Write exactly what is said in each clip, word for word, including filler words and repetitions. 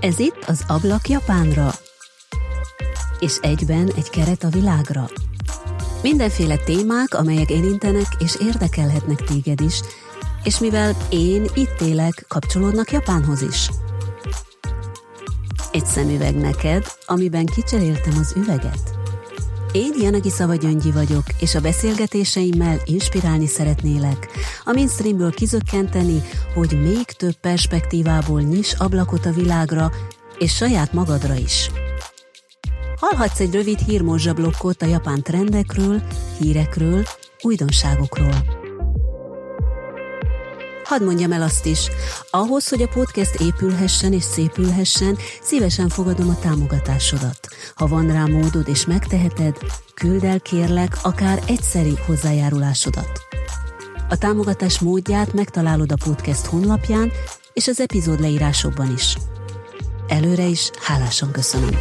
Ez itt az Ablak Japánra, és egyben egy keret a világra. Mindenféle témák, amelyek érintenek és érdekelhetnek téged is, és mivel én itt élek, kapcsolódnak Japánhoz is. Egy szemüveg neked, amiben kicseréltem az üveget. Én Yanagisawa Gyöngyi vagyok, és a beszélgetéseimmel inspirálni szeretnélek, a mainstreamből kizökkenteni, hogy még több perspektívából nyiss ablakot a világra, és saját magadra is. Hallhatsz egy rövid hírmorzsablokkot a japán trendekről, hírekről, újdonságokról. Hadd mondjam el azt is, ahhoz, hogy a podcast épülhessen és szépülhessen, szívesen fogadom a támogatásodat. Ha van rá módod és megteheted, küldd el kérlek akár egyszeri hozzájárulásodat. A támogatás módját megtalálod a podcast honlapján és az epizód leírásokban is. Előre is hálásan köszönöm.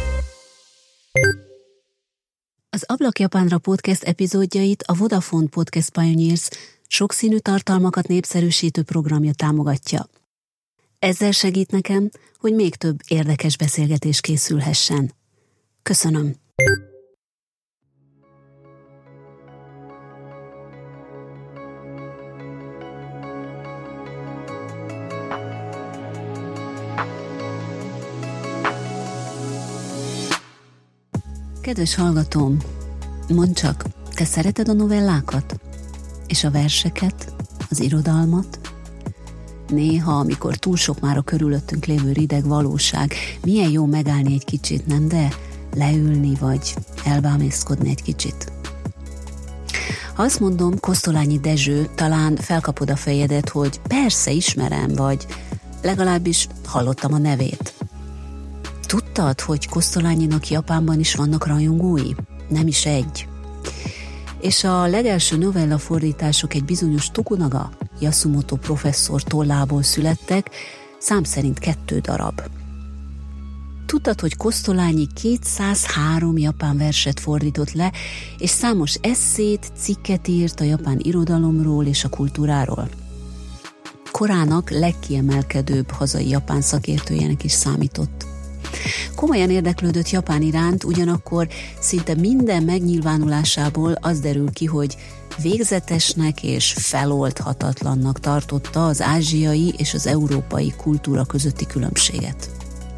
Az Ablak Japánra podcast epizódjait a Vodafone Podcast Pioneers sokszínű tartalmakat népszerűsítő programja támogatja. Ezzel segít nekem, hogy még több érdekes beszélgetés készülhessen. Köszönöm! Kedves hallgatóm, mondd csak, te szereted a novellákat? És a verseket, az irodalmat? Néha, amikor túl sok már a körülöttünk lévő rideg valóság, milyen jó megállni egy kicsit, nem de? Leülni vagy elbámészkodni egy kicsit. Ha azt mondom, Kosztolányi Dezső, talán felkapod a fejedet, hogy persze ismerem, vagy legalábbis hallottam a nevét. Tudtad, hogy Kosztolányinak Japánban is vannak rajongói? Nem is egy. És a legelső novella fordítások egy bizonyos Tokunaga Yasumoto professzor tollából születtek, szám szerint kettő darab. Tudtad, hogy Kosztolányi kétszázhárom japán verset fordított le, és számos esszét, cikket írt a japán irodalomról és a kultúráról? Korának legkiemelkedőbb hazai japán szakértőjének is számított. Komolyan érdeklődött Japán iránt, ugyanakkor szinte minden megnyilvánulásából az derül ki, hogy végzetesnek és feloldhatatlannak tartotta az ázsiai és az európai kultúra közötti különbséget.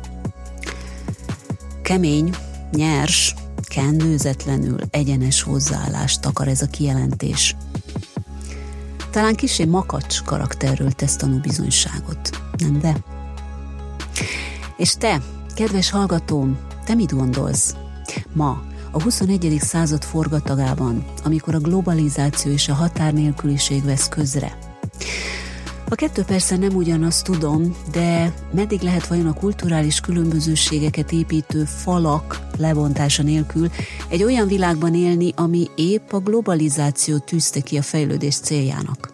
Kemény, nyers, kendőzetlenül egyenes hozzáállást akar ez a kijelentés. Talán kissé makacs karakterről tesz tanúbizonyságot, nem de? És te, kedves hallgatóm, te mit gondolsz? Ma, a huszonegyedik század forgatagában, amikor a globalizáció és a határnélküliség vesz közre. A kettő persze nem ugyanaz, tudom, de meddig lehet vajon a kulturális különbözőségeket építő falak lebontása nélkül egy olyan világban élni, ami épp a globalizáció tűzte ki a fejlődés céljának?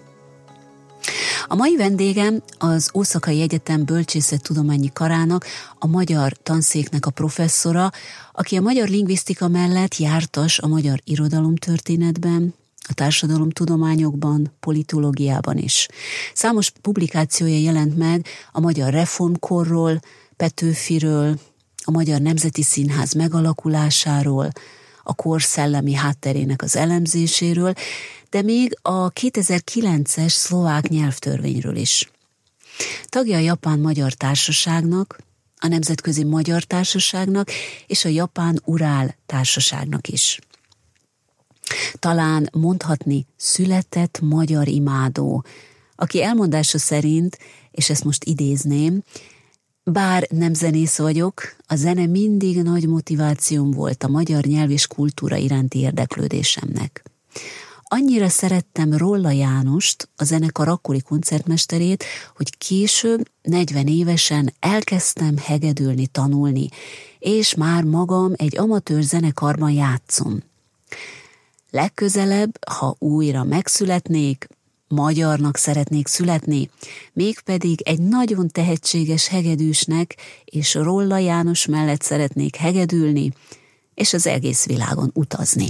A mai vendégem az Oszakai Egyetem Bölcsészettudományi Karának, a magyar tanszéknek a professzora, aki a magyar lingvisztika mellett jártas a magyar irodalomtörténetben, a társadalomtudományokban, politológiában is. Számos publikációja jelent meg a magyar reformkorról, Petőfiről, a Magyar Nemzeti Színház megalakulásáról, a kor szellemi hátterének az elemzéséről, de még a kétezer-kilences szlovák nyelvtörvényről is. Tagja a Japán-Magyar Társaságnak, a Nemzetközi Magyar Társaságnak és a Japán-Urál Társaságnak is. Talán mondhatni született magyar imádó, aki elmondása szerint, és ezt most idézném, bár nem zenész vagyok, a zene mindig nagy motivációm volt a magyar nyelv és kultúra iránti érdeklődésemnek. Annyira szerettem Rolla Jánost, a zenekar akkori koncertmesterét, hogy később, negyven évesen elkezdtem hegedülni, tanulni, és már magam egy amatőr zenekarban játszom. Legközelebb, ha újra megszületnék, magyarnak szeretnék születni, mégpedig egy nagyon tehetséges hegedűsnek és Rolla János mellett szeretnék hegedülni, és az egész világon utazni.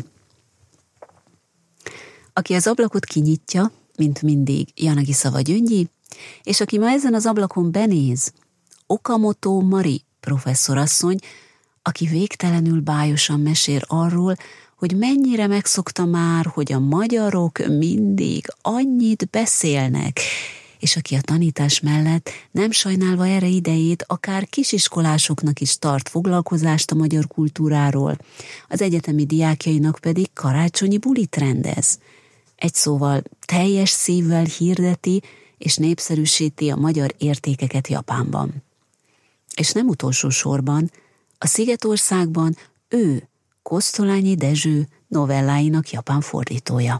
Aki az ablakot kinyitja, mint mindig Yanagisawa Gyöngyi, és aki ma ezen az ablakon benéz, Okamoto Mari professzorasszony, aki végtelenül bájosan mesél arról, hogy mennyire megszokta már, hogy a magyarok mindig annyit beszélnek, és aki a tanítás mellett nem sajnálva erre idejét, akár kisiskolásoknak is tart foglalkozást a magyar kultúráról, az egyetemi diákjainak pedig karácsonyi bulit rendez. Egy szóval teljes szívvel hirdeti és népszerűsíti a magyar értékeket Japánban. És nem utolsó sorban, a Szigetországban ő, Kosztolányi Dezső novelláinak japán fordítója.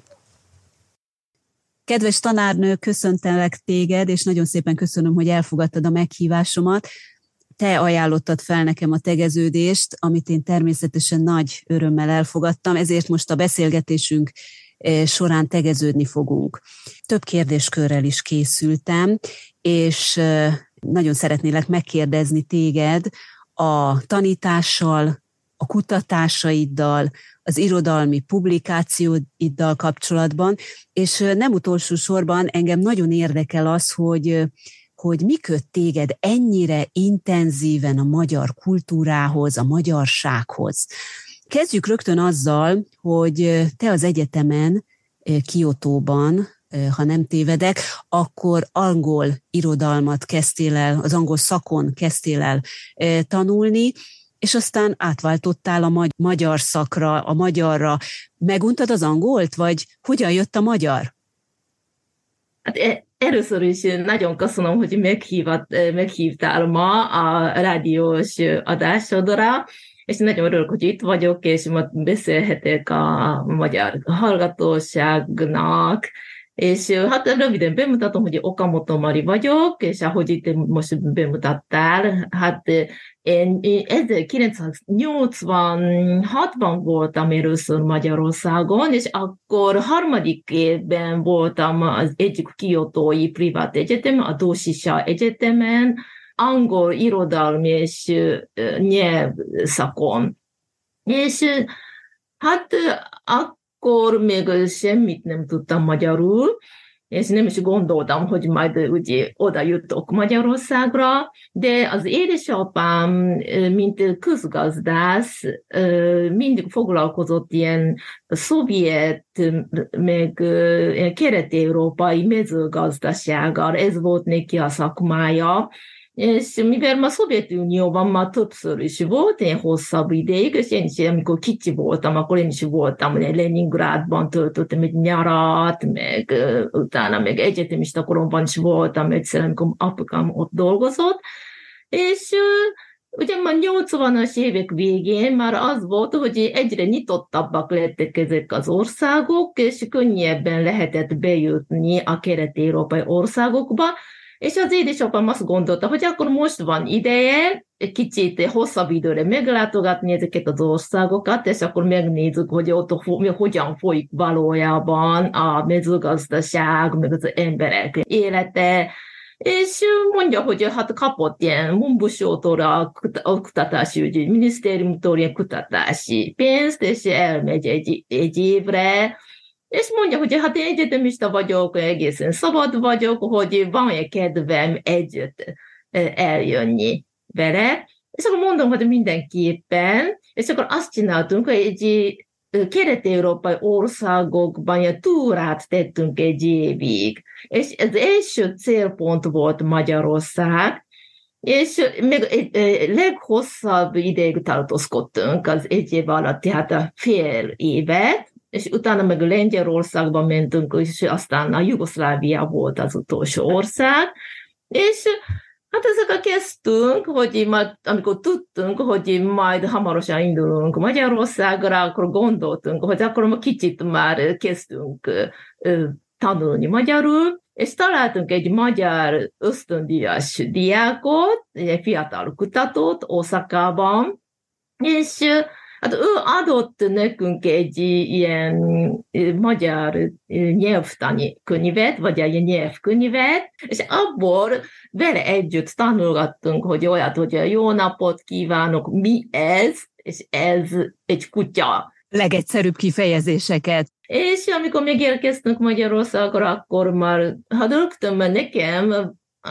Kedves tanárnő, köszöntelek téged, és nagyon szépen köszönöm, hogy elfogadtad a meghívásomat. Te ajánlottad fel nekem a tegeződést, amit én természetesen nagy örömmel elfogadtam, ezért most a beszélgetésünk során tegeződni fogunk. Több kérdéskörrel is készültem, és nagyon szeretnélek megkérdezni téged a tanítással, a kutatásaiddal, az irodalmi publikációiddal kapcsolatban, és nem utolsó sorban engem nagyon érdekel az, hogy, hogy mi köt téged ennyire intenzíven a magyar kultúrához, a magyarsághoz. Kezdjük rögtön azzal, hogy te az egyetemen, Kiotóban, ha nem tévedek, akkor angol irodalmat kezdtél el, az angol szakon kezdtél el tanulni, és aztán átváltottál a magyar szakra, a magyarra. Meguntad az angolt, vagy hogyan jött a magyar? Hát először is nagyon köszönöm, hogy meghívat, meghívtál ma a rádiós adásodra, és nagyon örülök, hogy itt vagyok, és ma beszélhetek a magyar hallgatóságnak, és hát röviden bemutatom, hogy Okamoto Mari vagyok, és ahogy itt most bemutattál, hát én ezerkilencszáznyolcvanhatban voltam először Magyarországon, és akkor harmadik évben voltam az egyik kiotói privát egyetem, a Doshisha Egyetemen, angol irodalmi és nyelvszakon. És hát akkor még semmit nem tudtam magyarul, és nem is gondoltam, hogy majd ugye oda jutok Magyarországra, de az édesapám, mint közgazdász, mindig foglalkozott ilyen szovjet, meg kelet-európai mezőgazdasággal, ez volt neki a szakmája, és mivel ma Szovjetunióban már többször is volt, én hosszabb ideig, és én is, amikor kicsi voltam, akkor én is voltam, Leningrádban töltöttem egy nyarat, meg utána meg egyetemista koromban is voltam egyszer, amikor apukám ott dolgozott, és ugye már nyolcvanas évek végén már az volt, hogy egyre nyitottabbak lettek ezek az országok, és könnyebben lehetett bejutni a kelet-európai országokba, és az édesapám azt gondolta, hogy akkor most van ideje egy kicsit hosszabb időre meglátogatni ezeket az országokat, és akkor megnézzük, hogy ott hogyan folyik valójában a mezőgazdaság, meg az emberek élete, és mondja, hogy hát kapott ilyen Mumbusótól, a Oktatási Ügyi Minisztériumtól ilyen kutatási pénzt, és elmegy egy, egy évre, és mondja, hogy hát én egyetemista vagyok, egészen szabad vagyok, hogy van-e kedvem együtt eljönni vele. És akkor mondom, hogy mindenképpen, és akkor azt csináltunk, hogy egy kelet-európai országokban egy túrát tettünk egy évig. És az első célpont volt Magyarország, és még leghosszabb ideig tartózkodtunk az egy év alatt, tehát a fél évet, és utána meg Lengyelországban mentünk, és aztán a Jugoszlávia volt az utolsó ország, és hát ezekkel kezdtünk, hogy majd, amikor tudtunk, hogy majd hamarosan indulunk Magyarországra, akkor gondoltunk, hogy akkor kicsit már kezdtünk tanulni magyarul, és találtunk egy magyar ösztöndíjas diákot, egy fiatal kutatót Oszakában, és hát ő adott nekünk egy ilyen magyar nyelvtani könyvet, vagy egy nyelvkönyvet, és abból vele együtt tanulgattunk, hogy olyat, hogy jó napot kívánok, mi ez, és ez egy kutya. Legegyszerűbb kifejezéseket. És amikor megérkeztünk Magyarországra, akkor már, hát rögtön nekem, hát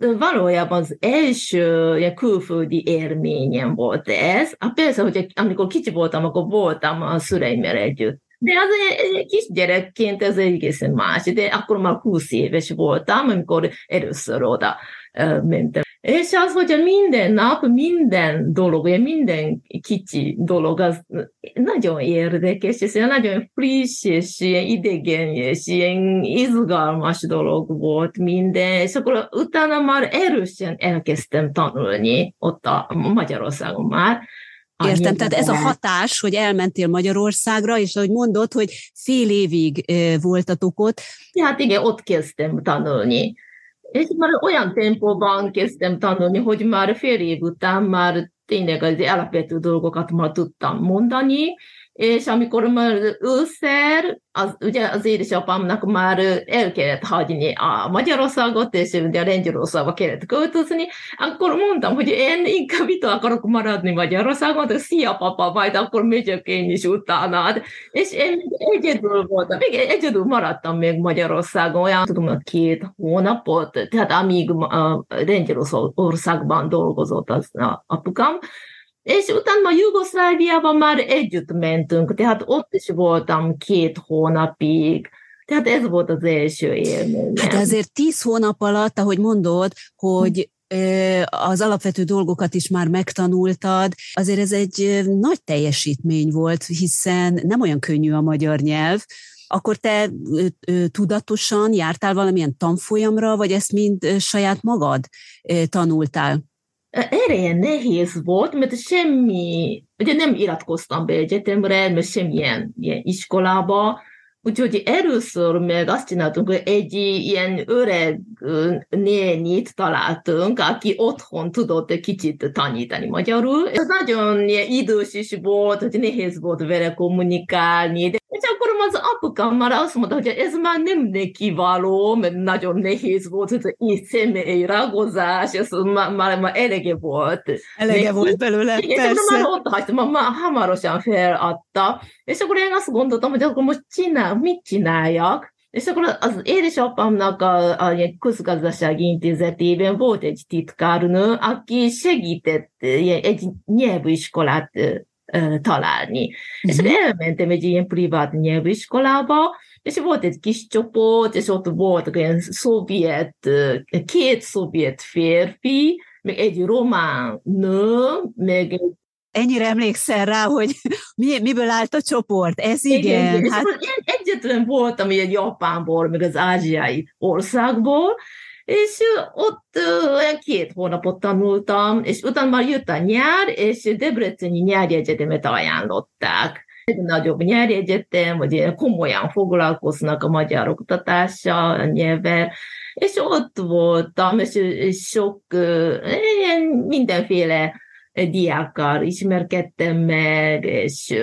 valójában az első ilyen külföldi élményem volt ez. Hát persze, hogy amikor kicsi voltam, akkor voltam a szüleimmel együtt. De az egy kisgyerekként ez egészen más. De akkor már húsz éves voltam, amikor először oda mentem. És az, hogy minden nap, minden dolog, minden kicsi dolog, az nagyon érdekes, és nagyon friss, és ilyen idegen, és ilyen izgalmas dolog volt minden, és akkor utána már erősen elkezdtem tanulni ott a Magyarországon már. Értem, tehát ez a hatás, hogy elmentél Magyarországra, és ahogy mondod, hogy fél évig voltatok ott. Hát igen, ott kezdtem tanulni. És már olyan tempóban kezdtem tanulni, hogy már fél év után már tényleg az alapvető dolgokat már tudtam mondani, és amikor már ősszel, az, ugye az édesapámnak már el kellett hagyni a Magyarországot, és ugye a Lengyelországba kellett költözni, akkor mondtam, hogy én inkább itt akarok maradni Magyarországon, de szia papa, majd akkor megyek én is utánad. És én egyedül voltam, még egyedül maradtam még Magyarországon, olyan tudom, két hónapot, tehát amíg a Lengyelországban dolgozott az apukám, és utána Jugoszláviában már együtt mentünk, tehát ott is voltam két hónapig. Tehát ez volt az első élményem. Hát azért tíz hónap alatt, ahogy mondod, hogy az alapvető dolgokat is már megtanultad, azért ez egy nagy teljesítmény volt, hiszen nem olyan könnyű a magyar nyelv. Akkor te tudatosan jártál valamilyen tanfolyamra, vagy ezt mind saját magad tanultál? Erre nehéz volt, mert semmi, ugye nem iratkoztam be egyetemre, mert semmilyen ilyen iskolába, úgyhogy először meg azt csináltunk, hogy egy ilyen öreg nénit találtunk, aki otthon tudott egy kicsit tanítani magyarul. Ez nagyon idős is volt, hogy nehéz volt vele kommunikálni, de és akkor az apukám már azt mondta, hogy ez már nem neki való, mert nagyon nehéz volt, hogy így személyi ragozás, ez már, már, már elege volt. Elege neki volt belőle, igen, persze. Már ott hagytam, már, már hamarosan feladta, és akkor én azt gondoltam, hogy akkor most csinál, mit csináljak? És akkor az édesapámnak a, a közgazdasági intézetében volt egy titkárnő, aki segített egy nyelviskolát találni. Uh-huh. És elmentem egy ilyen privát nyelviskolába, és volt egy kis csoport, és ott volt egy szovjet, két szovjet férfi, meg egy román nő, meg egy... Ennyire emlékszel rá, hogy mi, miből állt a csoport? Ez igen. igen, igen. Hát... Én egyetlen voltam egy Japánból, meg az ázsiai országból, és ott olyan két hónapot tanultam, és utána már jött a nyár, és Debreceni nyári egyetemet ajánlották. Egy nagyobb nyári egyetem, hogy komolyan foglalkoznak a magyar oktatással, a nyelvvel, és ott voltam, és sok ilyen mindenféle diákkal ismerkedtem meg, és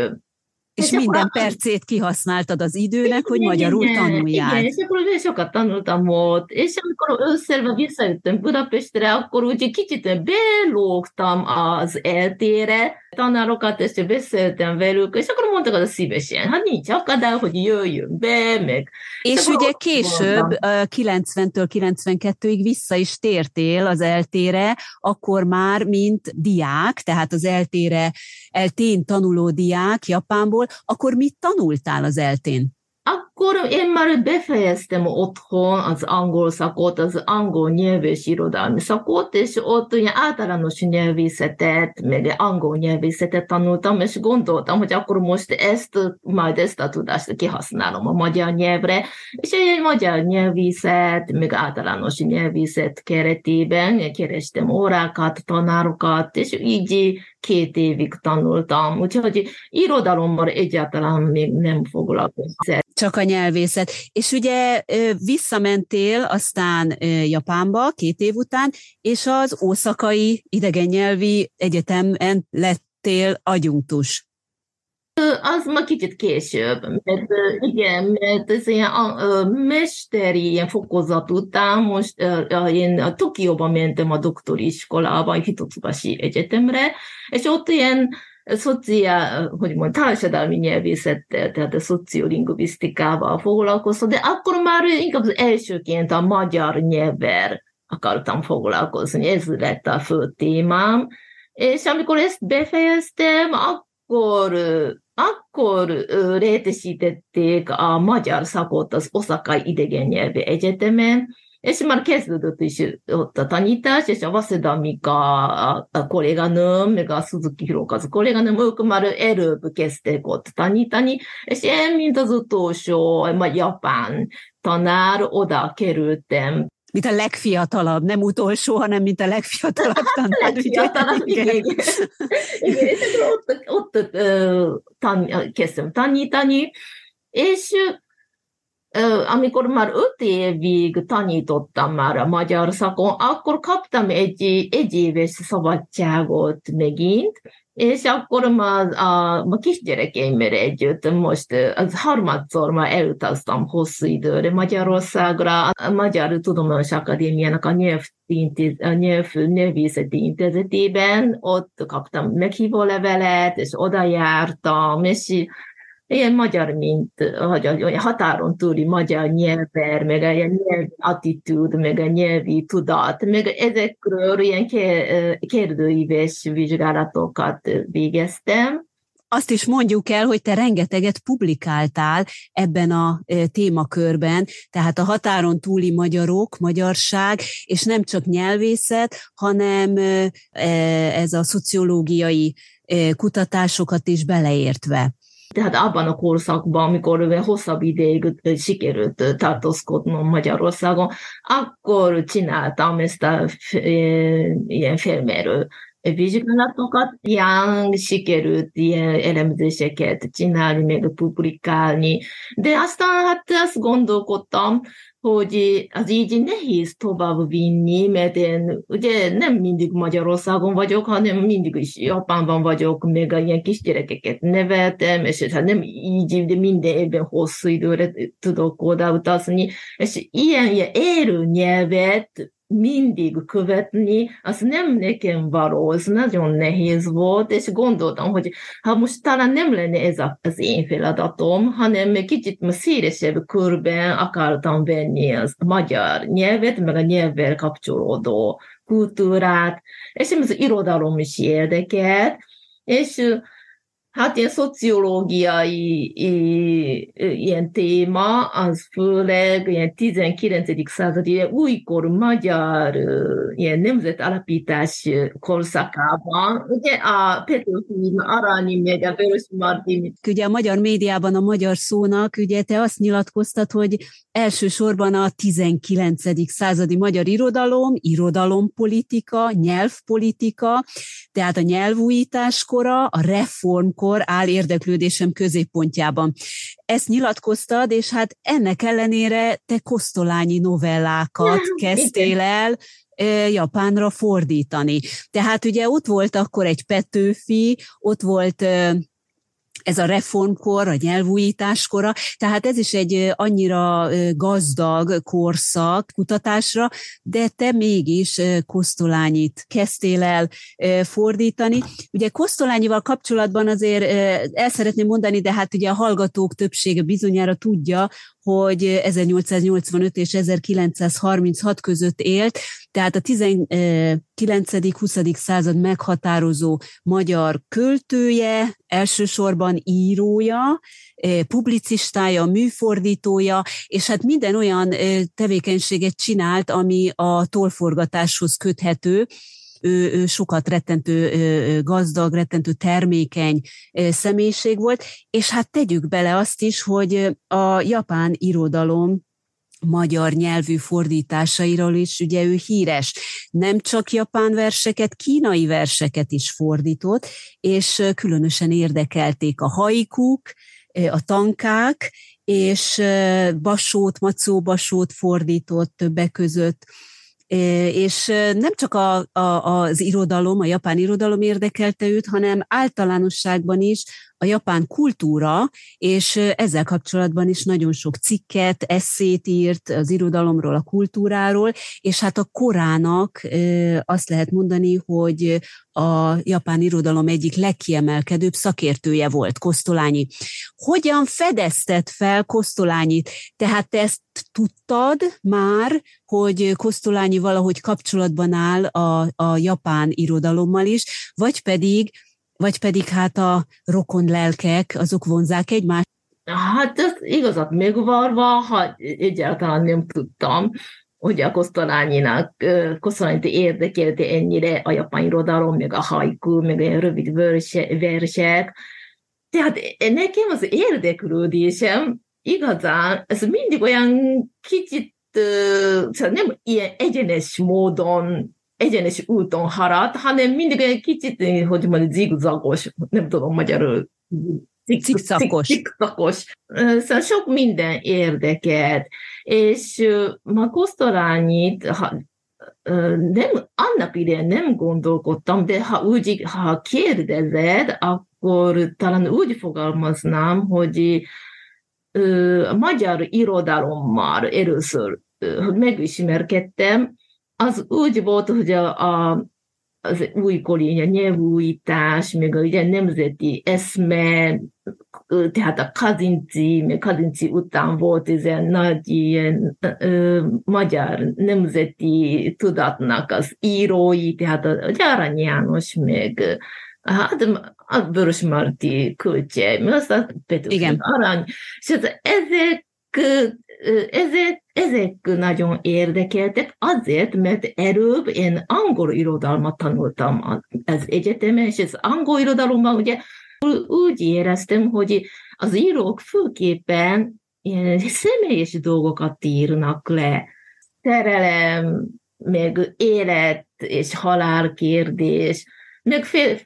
És minden a... percét kihasználtad az időnek, igen, hogy magyarul igen, tanuljál. Igen, és akkor sokat tanultam ott, és amikor ősszel visszajöttem Budapestre, akkor úgy kicsit belógtam az eltére, tanárokat, és beszéltem velük, és akkor mondtak, hogy szívesen, hát nincs akadály, hogy jöjjön be, meg... És, és ugye később, kilencventől kilencvenkettőig vissza is tértél az eltére, akkor már mint diák, tehát az eltére, eltén tanuló diák Japánból, akkor mit tanultál az eltén? Akkor én már befejeztem otthon az angol szakot, az angol nyelv és irodalmi szakot, és ott ugye általános nyelvészetet, meg angol nyelvészetet tanultam, és gondoltam, hogy akkor most ezt, majd ezt a tudást kihasználom a magyar nyelvre, és egy magyar nyelvészet, meg általános nyelvészet keretében kerestem órákat, tanárokat, és így két évig tanultam, úgyhogy irodalommal egyáltalán még nem foglalkoztam. Csak a nyelvészet. És ugye visszamentél aztán Japánba két év után, és az Oszakai Idegennyelvi Egyetemen lettél adjunktus. Az ma kicsit később, mert igen, mert ez ilyen a, a mesteri ilyen fokozat után most a, én a Tokióban mentem a doktori iskolába, a Hitotsubashi Egyetemre, és ott ilyen szociál, hogy mondjam, társadalmi nyelvészettel, tehát a szociolingvisztikával foglalkoztam, de akkor már inkább az elsőként a magyar nyelvvel akartam foglalkozni, ez lett a fő témám, és amikor ezt befejeztem, akkor, akkor létesítették a magyar szakot az Oszakai Idegennyelvi Egyetemen, és már kezdődött is ott a tanítás, és a Waseda Mika a, a kolléganőm, meg a Suzuki Hirokazu kolléganőm, ők már előbb kezdtek ott tanítani, és én, mint az utolsó vagy japán tanár, oda kerültem. Mint a legfiatalabb, nem utolsó, hanem mint a legfiatalabb tanár. legfiatalabb, igen. igen. igen. És ott, ott tan, kezdtem tanítani, és amikor már öt évig tanítottam már a magyar szakon, akkor kaptam egy, egy éves szabadságot megint, és akkor már a, a kisgyerekeimmel együtt most az harmadszor már elutaztam hosszú időre Magyarországra. A Magyar Tudományos Akadémiának a, nyelv, a nyelv, nyelvészeti intézetében, ott kaptam meghívó levelet, és oda jártam, és ilyen magyar, mint hogy határon túli magyar nyelver, meg a nyelvi attitűd, meg a nyelvi tudat, meg ezekről ilyen kérdőíves vizsgálatokat végeztem. Azt is mondjuk el, hogy te rengeteget publikáltál ebben a témakörben, tehát a határon túli magyarok, magyarság, és nem csak nyelvészet, hanem ez a szociológiai kutatásokat is beleértve. Tehát abban a korszakban, amikor hosszabb ideig sikerült tartózkodnom Magyarországon, akkor csináltam ezt a ilyen felmérő vizsgálatokat, ilyen sikerült ilyen elemzéseket csinálni, meg publikálni, de aztán hát azt gondolkodtam, hogy az így nehéz tovább vinni, mert én ugye nem mindig Magyarországon vagyok, hanem mindig is Japánban vagyok, meg ilyen kisgyerekeket neveltem, és hát nem így, de minden évben hosszú időre tudok odautazni, és ilyen, ilyen élő nyelvet mindig követni, az nem nekem való, az nagyon nehéz volt, és gondoltam, hogy ha most talán nem lenne ez az én feladatom, hanem kicsit szélesebb körben akartam venni az magyar nyelvet, meg a nyelvvel kapcsolódó kultúrát, és az irodalom is érdekelt, és hát ilyen szociológiai ilyen téma, az főleg ilyen tizenkilencedik századi ilyen újkor magyar ilyen nemzetalapítás korszakában, ugye a Petőfi, Arany, meg a Vörös Martin. Ugye a magyar médiában a magyar szónak, ugye te azt nyilatkoztad, hogy elsősorban a tizenkilencedik századi magyar irodalom, irodalompolitika, nyelvpolitika, tehát a nyelvújítás kora, a reformkor áll érdeklődésem középpontjában. Ezt nyilatkoztad, és hát ennek ellenére te kosztolányi novellákat kezdtél el japánra fordítani. Tehát ugye ott volt akkor egy Petőfi, ott volt ez a reformkor, a nyelvújításkora, tehát ez is egy annyira gazdag korszak kutatásra, de te mégis Kosztolányit kezdtél el fordítani. Ugye Kosztolányival kapcsolatban azért el szeretném mondani, de hát ugye a hallgatók többsége bizonyára tudja, hogy ezernyolcszáznyolcvanöt és ezerkilencszázharminchat között élt, tehát a tizenkilencedik-huszadik század meghatározó magyar költője, elsősorban írója, publicistája, műfordítója, és hát minden olyan tevékenységet csinált, ami a tollforgatáshoz köthető. Ő, ő sokat rettentő gazdag, rettentő termékeny személyiség volt, és hát tegyük bele azt is, hogy a japán irodalom magyar nyelvű fordításairól is ugye ő híres. Nem csak japán verseket, kínai verseket is fordított, és különösen érdekelték a haikuk, a tankák, és Basót, Macó Basót fordított többek között, és nem csak a, a, az irodalom, a japán irodalom érdekelte őt, hanem általánosságban is a japán kultúra, és ezzel kapcsolatban is nagyon sok cikket, esszét írt az irodalomról, a kultúráról, és hát a korának azt lehet mondani, hogy a japán irodalom egyik legkiemelkedőbb szakértője volt Kosztolányi. Hogyan fedezted fel Kosztolányit? Tehát te ezt tudtad már, hogy Kosztolányi valahogy kapcsolatban áll a, a japán irodalommal is, vagy pedig, vagy pedig hát a rokon lelkek, azok vonzák egymást? Hát ez igazat megvarva, ha egyáltalán nem tudtam, hogy a Kosztolányinak, Kosztolányit érdekelte ennyire a japán irodalom, meg a haiku, meg a rövid versek. Tehát nekem az érdeklődésem igazán, ez mindig olyan kicsit, nem ilyen egyenes módon, egyenes úton harad, hanem mindig olyan kicsit, hogy mondjuk zigzagos, nem tudom magyarul, Cikcakos. Cikcakos. Szóval sok minden érdekelt. És ma Kosztolányit, ha, nem, annak idején nem gondolkodtam, de ha úgy, ha kérdezed, akkor talán úgy fogalmaznám, hogy a magyar irodalommal először megismerkedtem, az úgy volt, hogy a, a az újkori nyelvújítás, meg a ugye, nemzeti eszme, tehát a Kazinci, meg Kazinci után volt ez egy nagy ilyen, ö, magyar nemzeti tudatnak az írói, tehát a, a Arany János, meg hát a Vörös Marti költje, meg azt a Petőfi Arany, és ezek Ezek, ezek nagyon érdekeltek azért, mert előbb én angol irodalmat tanultam az egyetemen, és az angol irodalomban ugye úgy éreztem, hogy az írók főképpen ilyen személyes dolgokat írnak le. Szerelem, meg élet és halál kérdés, meg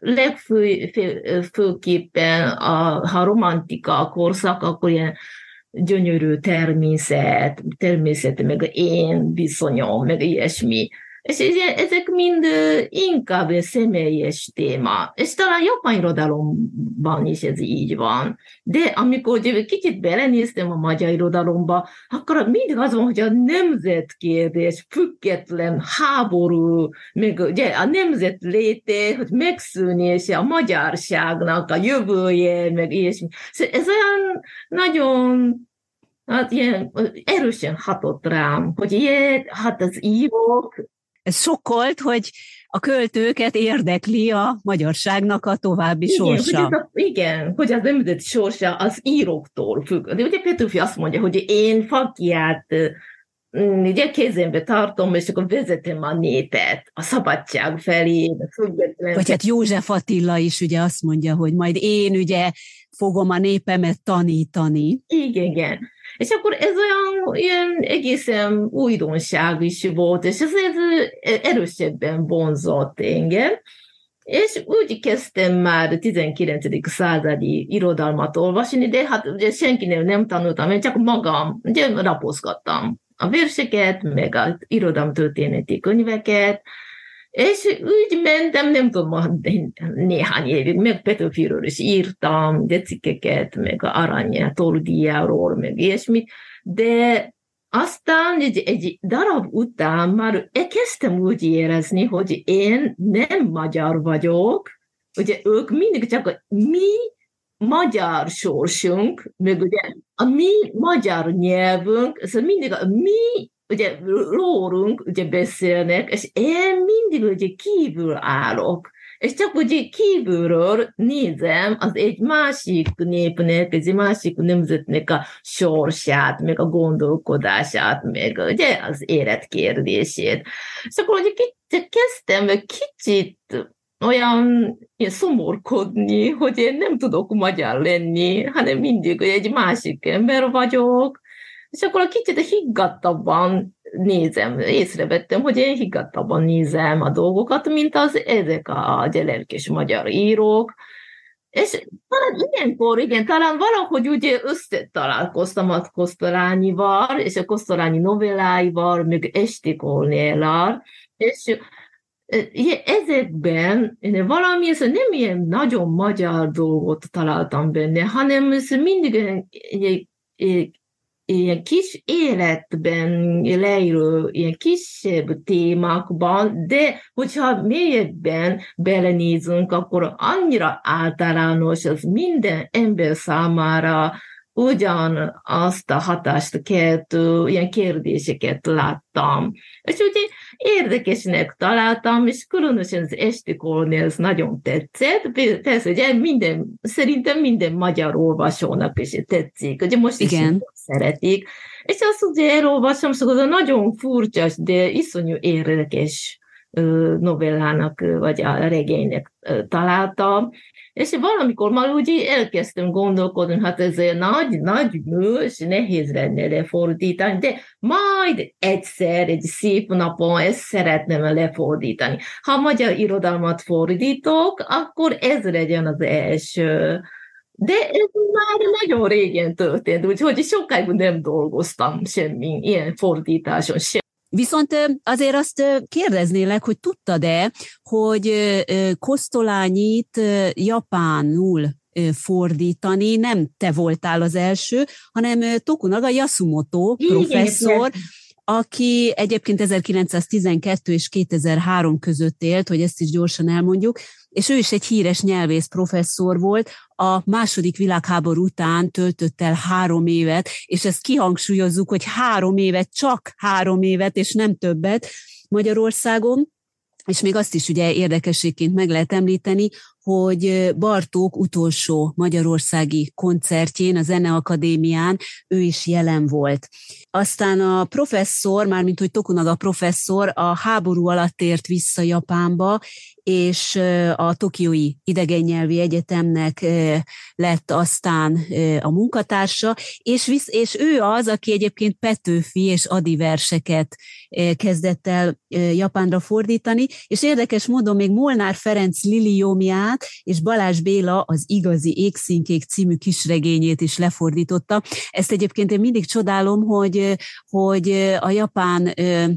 legfőképpen a, ha romantika a korszak, akkor ilyen gyönyörű természet, természet, meg én viszonyom, meg ilyesmi. És ezek mind inkább személyes téma. És talán japán irodalomban is ez így van. De amikor kicsit belenéztem a magyar irodalomba, akkor mindig az van, hogy a nemzetkérdés, független háború, meg ugye a nemzet léte, hogy megszűnése, a magyarságnak a jövője, meg ilyesmi. Szóval ez olyan nagyon hát ilyen erősen hatott rám, hogy ilyen, hát az írók. Ez sokkolt, hogy a költőket érdekli a magyarságnak a további igen, sorsa. Hogy a, igen, hogy az nemzeti sorsa az íróktól függ. De ugye Petőfi azt mondja, hogy én Fakiát ugye kezembe tartom, és akkor vezetem a népet a szabadság felé. Független... Vagy hát József Attila is ugye azt mondja, hogy majd én ugye fogom a népemet tanítani. Igen, igen. És akkor ez olyan ilyen egészen újdonság is volt, és ez, ez erősebben vonzott engem. És úgy kezdtem már tizenkilencedik századi irodalmat olvasni, de hát ugye senkinél nem tanultam, én csak magam, ugye lapozgattam a verseket, meg az irodalomtörténeti könyveket, és úgy mentem, nem tudom, néhány évig, meg Petőfiről is írtam, de cikkeket, meg a Arany Toldiáról, meg ilyesmit, de aztán egy, egy darab után már kezdtem úgy érezni, hogy én nem magyar vagyok, ugye ők mindig csak a mi magyar sorsunk, meg ugye a mi magyar nyelvünk, ez mindig a mi ugye rólunk ugye beszélnek, és én mindig ugye kívül állok, és csak ugye kívülről nézem az egy másik népnek, egy másik nemzetnek a sorsát, meg a gondolkodását, meg ugye az életkérdését. És akkor ugye kezdtem kicsit olyan szomorkodni, hogy én nem tudok magyar lenni, hanem mindig egy másik ember vagyok, és akkor a kicsit higgadtabban nézem, észrevettem, hogy én higgadtabban nézem a dolgokat, mint az ezek a lelkes magyar írók. És talán ilyenkor, igen, talán valahogy ugye összetalálkoztam a Kosztolányival, és a Kosztolányi novelláival, meg Esti Kornéllal, és ezekben valami, ez nem ilyen nagyon magyar dolgot találtam benne, hanem ez mindig egy, egy ilyen kis életben leíró, ilyen kisebb témákban, de hogyha mélyebben belenézünk, akkor annyira általános, az minden ember számára ugyanazt a hatást keltő ilyen kérdéseket láttam. És ugye érdekesnek találtam, és különösen az estikornél ez nagyon tetszett. Persze, ugye minden, szerintem minden magyar olvasónak is tetszik. Ugye most is szeretik. És azt ugye elolvasom, szóval nagyon furcsa, de iszonyú érdekes novellának, vagy a regénynek találtam. És valamikor már úgy elkezdtem gondolkodni, hát ez nagy, nagy mű, és nehéz lenne lefordítani, de majd egyszer, egy szép napon ezt szeretném lefordítani. Ha magyar irodalmat fordítok, akkor ez legyen az első. De ez már nagyon régen történt, úgyhogy sokáig nem dolgoztam semmi ilyen fordításon sem. Viszont azért azt kérdeznélek, hogy tudtad-e, hogy Kosztolányit japánul fordítani nem te voltál az első, hanem Tokunaga Yasumoto professzor, aki egyébként ezerkilencszáztizenkettő és kétezer-három között élt, hogy ezt is gyorsan elmondjuk, és ő is egy híres nyelvész professzor volt, a második világháború után töltött el három évet, és ezt kihangsúlyozzuk, hogy három évet, csak három évet, és nem többet Magyarországon, és még azt is ugye érdekességként meg lehet említeni, hogy Bartók utolsó magyarországi koncertjén, a Zeneakadémián ő is jelen volt. Aztán a professzor, mármint hogy Tokunaga professzor a háború alatt tért vissza Japánba, és a Tokiói Idegennyelvi Egyetemnek lett aztán a munkatársa, és, visz, és ő az, aki egyébként Petőfi és Ady verseket kezdett el japánra fordítani, és érdekes módon még Molnár Ferenc Liliomját és Balázs Béla az Igazi Égszínkék című kisregényét is lefordította. Ezt egyébként én mindig csodálom, hogy, hogy a japán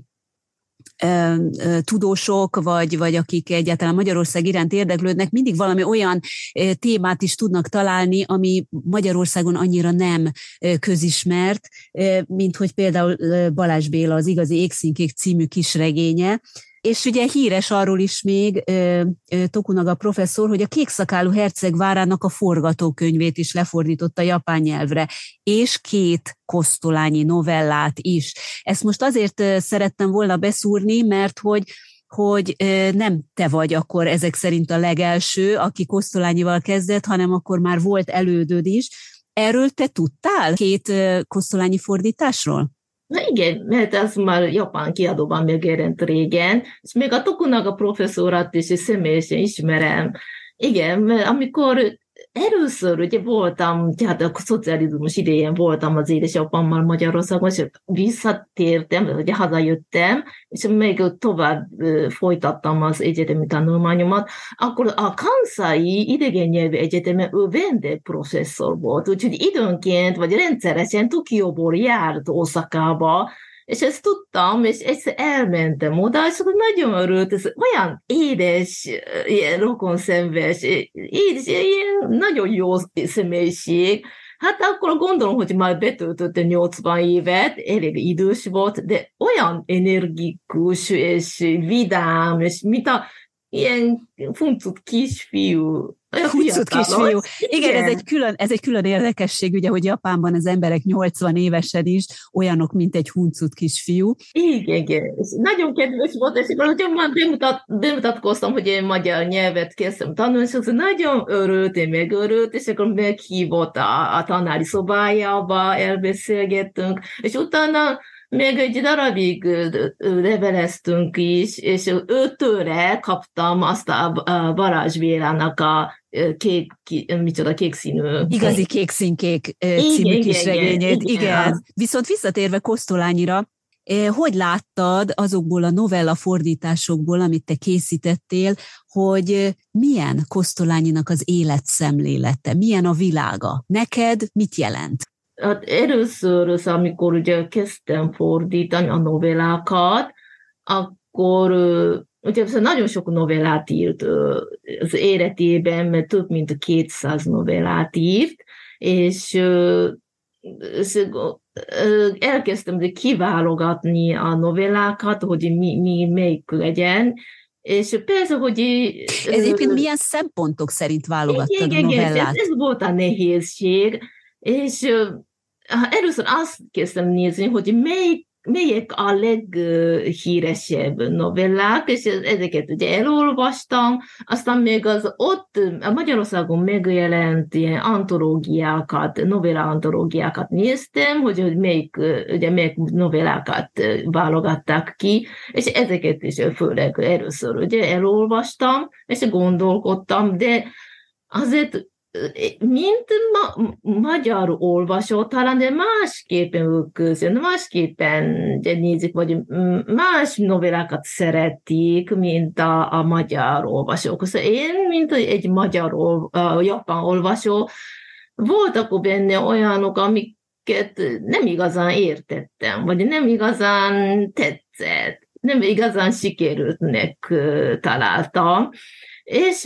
tudósok, vagy, vagy akik egyáltalán Magyarország iránt érdeklődnek, mindig valami olyan témát is tudnak találni, ami Magyarországon annyira nem közismert, mint hogy például Balázs Béla az Igazi Égszínkék című kisregénye. És ugye híres arról is még Tokunaga professzor, hogy a Kékszakálú herceg várának a forgatókönyvét is lefordította japán nyelvre, és két Kosztolányi novellát is. Ezt most azért szerettem volna beszúrni, mert hogy hogy nem te vagy akkor ezek szerint a legelső, aki Kosztolányival kezdett, hanem akkor már volt elődöd is. Erről te tudtál két Kosztolányi fordításról? Na igen, mert ez már japán kiadóban megjelent régen, és még a Tokunaga professzorat is személyesen ismerem. Igen, mert amikor először ugye voltam, tehát a szocializmus idején voltam az édesapámmal Magyarországon, és visszatértem, ugye hazajöttem, és még tovább folytattam az egyetemi tanulmányomat, akkor a Kansai Idegennyelvi Egyetemen ő vendégprofesszor volt, úgyhogy időnként, vagy rendszeresen Tokióból járt Oszakába, és ezt tudtam, és egyszer elmentem oda, és akkor nagyon örült, ez olyan édes, ilyen rokonszenves, édes, ilyen nagyon jó személyiség. Hát akkor gondolom, hogy már betöltötte nyolcvan évet, elég idős volt, de olyan energikus, és vidám, és mint a ilyen funcut kisfiú. Funcut kisfiú. Igen, igen, ez egy, külön, ez egy külön érdekesség, ugye, hogy Japánban az emberek nyolcvan évesen is olyanok, mint egy huncut kisfiú. Igen, igen. Nagyon kedves volt, és akkor már bemutat, bemutatkoztam, hogy én magyar nyelvet kezdtem tanulni, és akkor nagyon örült, én megörült, és akkor meghívott a, a tanári szobájába, elbeszélgettünk, és utána még egy darabig leveleztünk is, és őtőre kaptam azt a Balázs Bélának a kék, micsoda kék színű. Igazi kékszínkék című kisregényét. Igen, igen. Viszont visszatérve Kosztolányira, hogy láttad azokból a novella fordításokból, amit te készítettél, hogy milyen Kosztolányinak az életszemlélete, milyen a világa? Neked mit jelent? Hát először, amikor ugye kezdtem fordítani a novellákat, akkor ugye nagyon sok novellát írt az életében, mert több mint kétszáz novellát írt, és, és elkezdtem kiválogatni a novellákat, hogy mi, mi melyik legyen, és persze, hogy... Ez egyébként milyen szempontok szerint válogattad igen, a novellát? Ez, ez volt a nehézség, És először azt kezdtem nézni, hogy melyik, melyek a leghíresebb novellák, és ezeket ugye elolvastam, aztán még az ott a Magyarországon megjelent ilyen antológiákat, novella antológiákat néztem, hogy, hogy melyik, ugye melyik novellákat válogatták ki, és ezeket is főleg először ugye elolvastam, és gondolkodtam, de azért mint ma, magyar olvasó, talán de másképpen közön, másképpen nézik, vagy más novellákat szeretik, mint a, a magyar olvasók. Szóval én, mint egy magyar, uh, japán olvasó, voltak benne olyanok, amiket nem igazán értettem, vagy nem igazán tetszett, nem igazán sikerültnek uh, találtam, és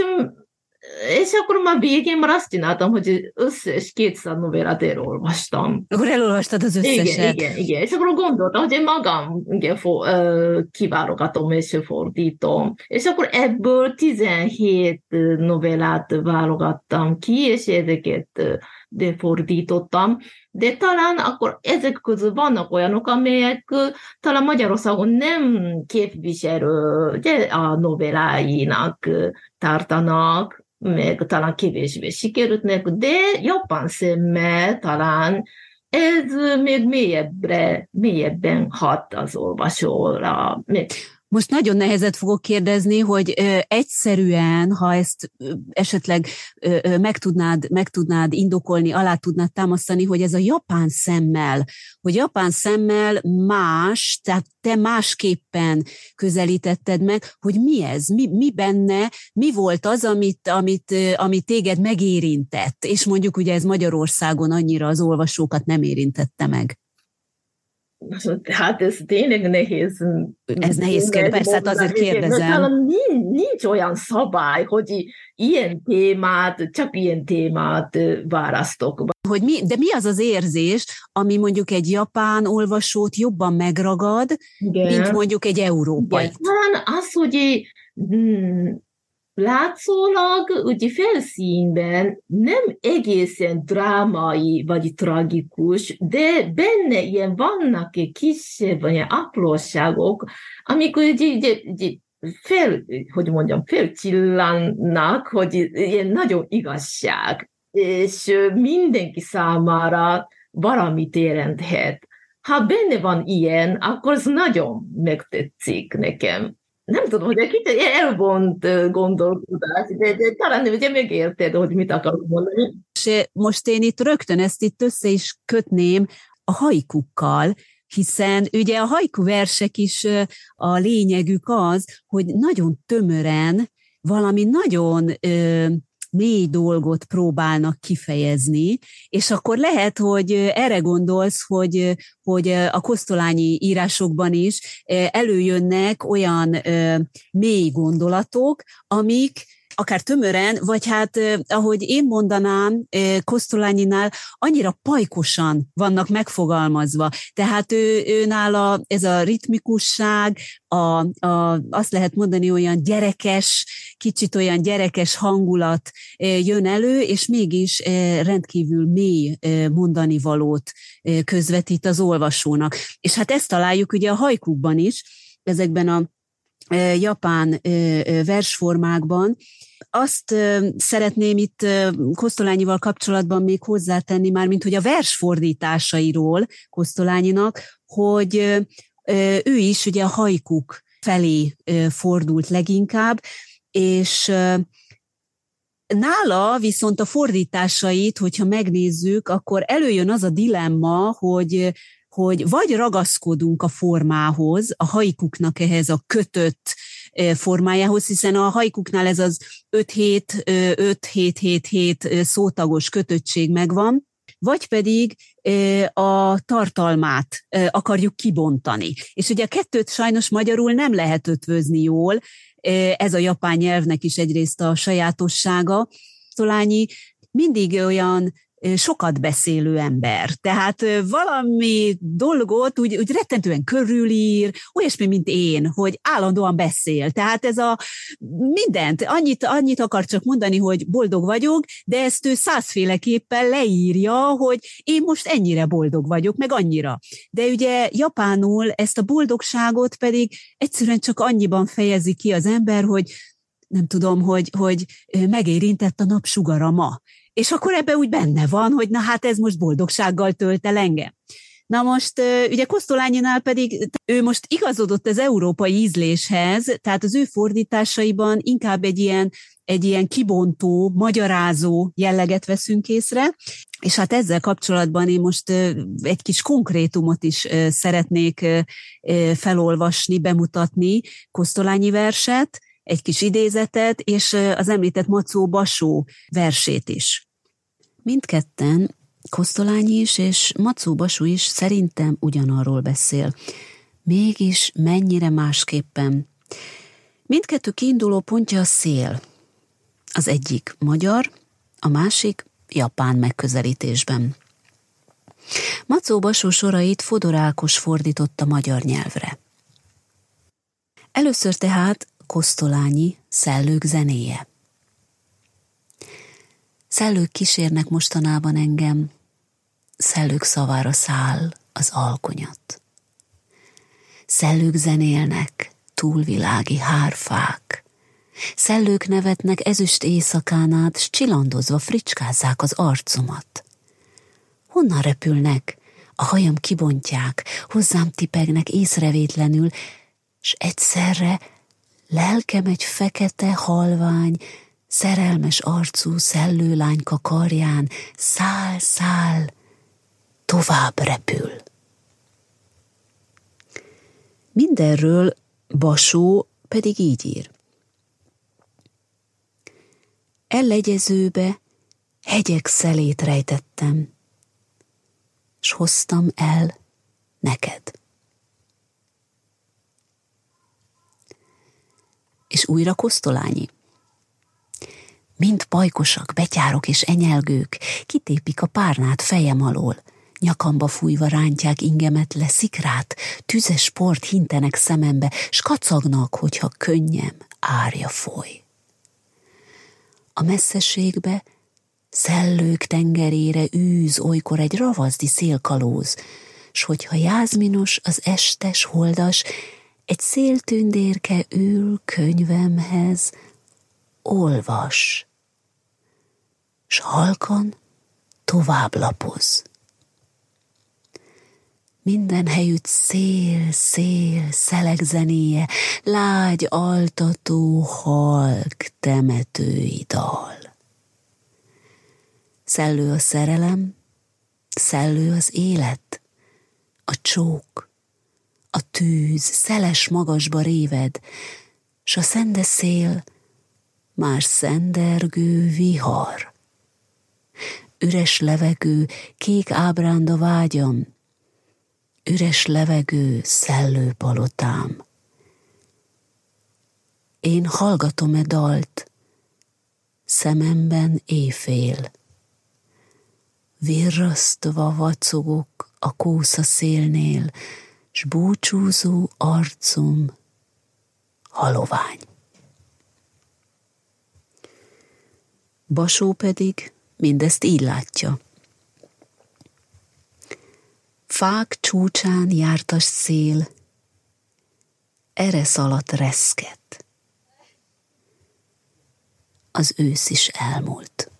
És akkor már végén már azt csináltam, hogy összes kétszáz novellát elolvastam. Akkor elolvastad az összeset. Igen, igen, igen. És akkor gondoltam, hogy én magam igen, for, uh, kiválogatom és fordítom. És akkor ebből tizenhét novellát válogattam ki, és ezeket de fordítottam. De talán akkor ezek közül vannak olyanok, amelyek talán Magyarországon nem képviselő ugye, a novelláinak tartanak, meg talán kevésbé sikerültnek, de jobban szemmel talán ez még mélyebbre, mélyebben hat az olvasóra. Most nagyon nehezet fogok kérdezni, hogy ö, egyszerűen, ha ezt ö, esetleg ö, ö, meg, tudnád, meg tudnád indokolni, alá tudnád támasztani, hogy ez a japán szemmel, hogy japán szemmel más, tehát te másképpen közelítetted meg, hogy mi ez, mi, mi benne, mi volt az, amit, amit, amit téged megérintett, és mondjuk ugye ez Magyarországon annyira az olvasókat nem érintette meg. Hát ez tényleg nehéz. Ez nehéz kérdés, persze, hát azért kérdezem. Talán nincs, nincs olyan szabály, hogy ilyen témát, csak ilyen témát választok. Hogy mi, de mi az az érzés, ami mondjuk egy japán olvasót jobban megragad, igen, mint mondjuk egy európai? Talán az, hogy hmm, látszólag ugye felszínben nem egészen drámai vagy tragikus, de benne ilyen vannak kisebb ilyen apróságok, amikor ugye, ugye, ugye fel, hogy mondjam, felcsillannak, hogy ilyen nagyon igazság, és mindenki számára valamit jelenthet. Ha benne van ilyen, akkor az nagyon megtetszik nekem. Nem tudom, hogy egy kicsit elvont gondolkodás, de, de talán ugye megérted, hogy mit akarok mondani. És most én itt rögtön ezt itt össze is kötném a haikukkal, hiszen ugye a haiku versek is a lényegük az, hogy nagyon tömören valami nagyon ö, mély dolgot próbálnak kifejezni, és akkor lehet, hogy erre gondolsz, hogy, hogy a kosztolányi írásokban is előjönnek olyan mély gondolatok, amik akár tömören, vagy hát, ahogy én mondanám, Kosztolányinál annyira pajkosan vannak megfogalmazva. Tehát ő, ő nála ez a ritmikusság, a, a, azt lehet mondani, olyan gyerekes, kicsit olyan gyerekes hangulat jön elő, és mégis rendkívül mély mondani valót közvetít az olvasónak. És hát ezt találjuk ugye a haikukban is, ezekben a japán versformákban. Azt szeretném itt Kosztolányival kapcsolatban még hozzátenni már, mint hogy a versfordításairól Kosztolányinak, hogy ő is ugye a haikuk felé fordult leginkább, és nála viszont a fordításait, hogyha megnézzük, akkor előjön az a dilemma, hogy hogy vagy ragaszkodunk a formához, a haikuknak ehhez a kötött formájához, hiszen a haikuknál ez az öt hét hét hét hét szótagos kötöttség megvan, vagy pedig a tartalmát akarjuk kibontani. És ugye a kettőt sajnos magyarul nem lehet ötvözni jól, ez a japán nyelvnek is egyrészt a sajátossága. Kosztolányi mindig olyan sokat beszélő ember. Tehát valami dolgot úgy, úgy rettentően körülír, olyasmi, mint én, hogy állandóan beszél. Tehát ez a mindent, annyit, annyit akar csak mondani, hogy boldog vagyok, de ezt ő százféleképpen leírja, hogy én most ennyire boldog vagyok, meg annyira. De ugye japánul ezt a boldogságot pedig egyszerűen csak annyiban fejezi ki az ember, hogy nem tudom, hogy, hogy megérintett a napsugara ma. És akkor ebben úgy benne van, hogy na hát ez most boldogsággal tölt el engem. Na most ugye Kosztolánynál pedig ő most igazodott az európai ízléshez, tehát az ő fordításaiban inkább egy ilyen, egy ilyen kibontó, magyarázó jelleget veszünk észre, és hát ezzel kapcsolatban én most egy kis konkrétumot is szeretnék felolvasni, bemutatni, Kosztolányi verset, egy kis idézetet, és az említett Macó Basó versét is. Mindketten, Kosztolányi is és Macó Basó is szerintem ugyanarról beszél. Mégis mennyire másképpen. Mindkettő kiinduló pontja a szél. Az egyik magyar, a másik japán megközelítésben. Macó Basó sorait Fodor Ákos fordította magyar nyelvre. Először tehát Kosztolányi Szellők zenéje. Szellők kísérnek mostanában engem, szellők szavára száll az alkonyat. Szellők zenélnek, túlvilági hárfák, szellők nevetnek ezüst éjszakán át, s csillandozva fricskázzák az arcomat. Honnan repülnek, a hajam kibontják, hozzám tipegnek észrevétlenül, s egyszerre lelkem egy fekete, halvány, szerelmes arcú szellőlányka karján száll, száll, tovább repül. Mindenről Basó pedig így ír. Ellegyezőbe hegyek szelét rejtettem, s hoztam el neked. És újra Kosztolányi. Mind pajkosak, betyárok és enyelgők, kitépik a párnát fejem alól, nyakamba fújva rántják ingemet le szikrát, tüzes port hintenek szemembe, s kacagnak, hogyha könnyem árja foly. A messzeségbe szellők tengerére űz olykor egy ravaszdi szélkalóz, s hogyha jázminos az estes holdas, egy széltündérke ül könyvemhez, olvas, s halkan tovább lapoz. Minden helyütt szél, szél, szeleg zenéje, lágy altató, halk temetői dal. Szellő a szerelem, szellő az élet, a csók, a tűz szeles magasba réved, s a szende szél már szendergő vihar. Üres levegő, kék ábránda vágyam, üres levegő, szellő palotám. Én hallgatom-e dalt, szememben éjfél. Virrasztva vacogok a kósza szélnél, s búcsúzó arcom halovány. Basó pedig mindezt így látja. Fák csúcsán jártas szél, eresz alatt reszket. Az ősz is elmúlt.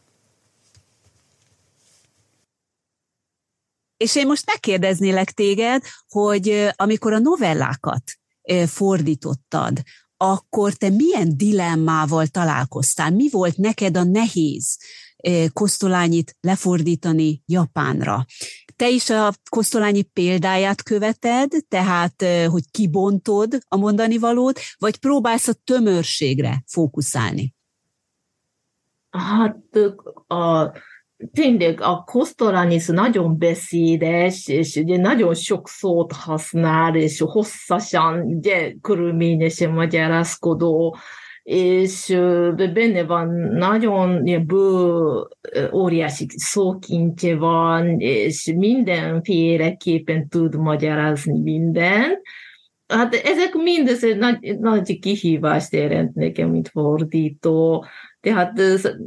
És én most megkérdeznélek téged, hogy amikor a novellákat fordítottad, akkor te milyen dilemmával találkoztál? Mi volt neked a nehéz Kosztolányit lefordítani japánra? Te is a Kosztolányi példáját követed, tehát hogy kibontod a mondani valót, vagy próbálsz a tömörségre fókuszálni? Hát a, tényleg a Kosztolányi nagyon beszédes, és ugye nagyon sok szót használ, és hosszasan, ugye körülményesen magyarázkodó, és benne van nagyon bő, óriási szókincse van, és mindenféleképpen tud magyarázni mindent. Hát ezek mindez nagy, nagy kihívást jelent nekem, mint fordító. Tehát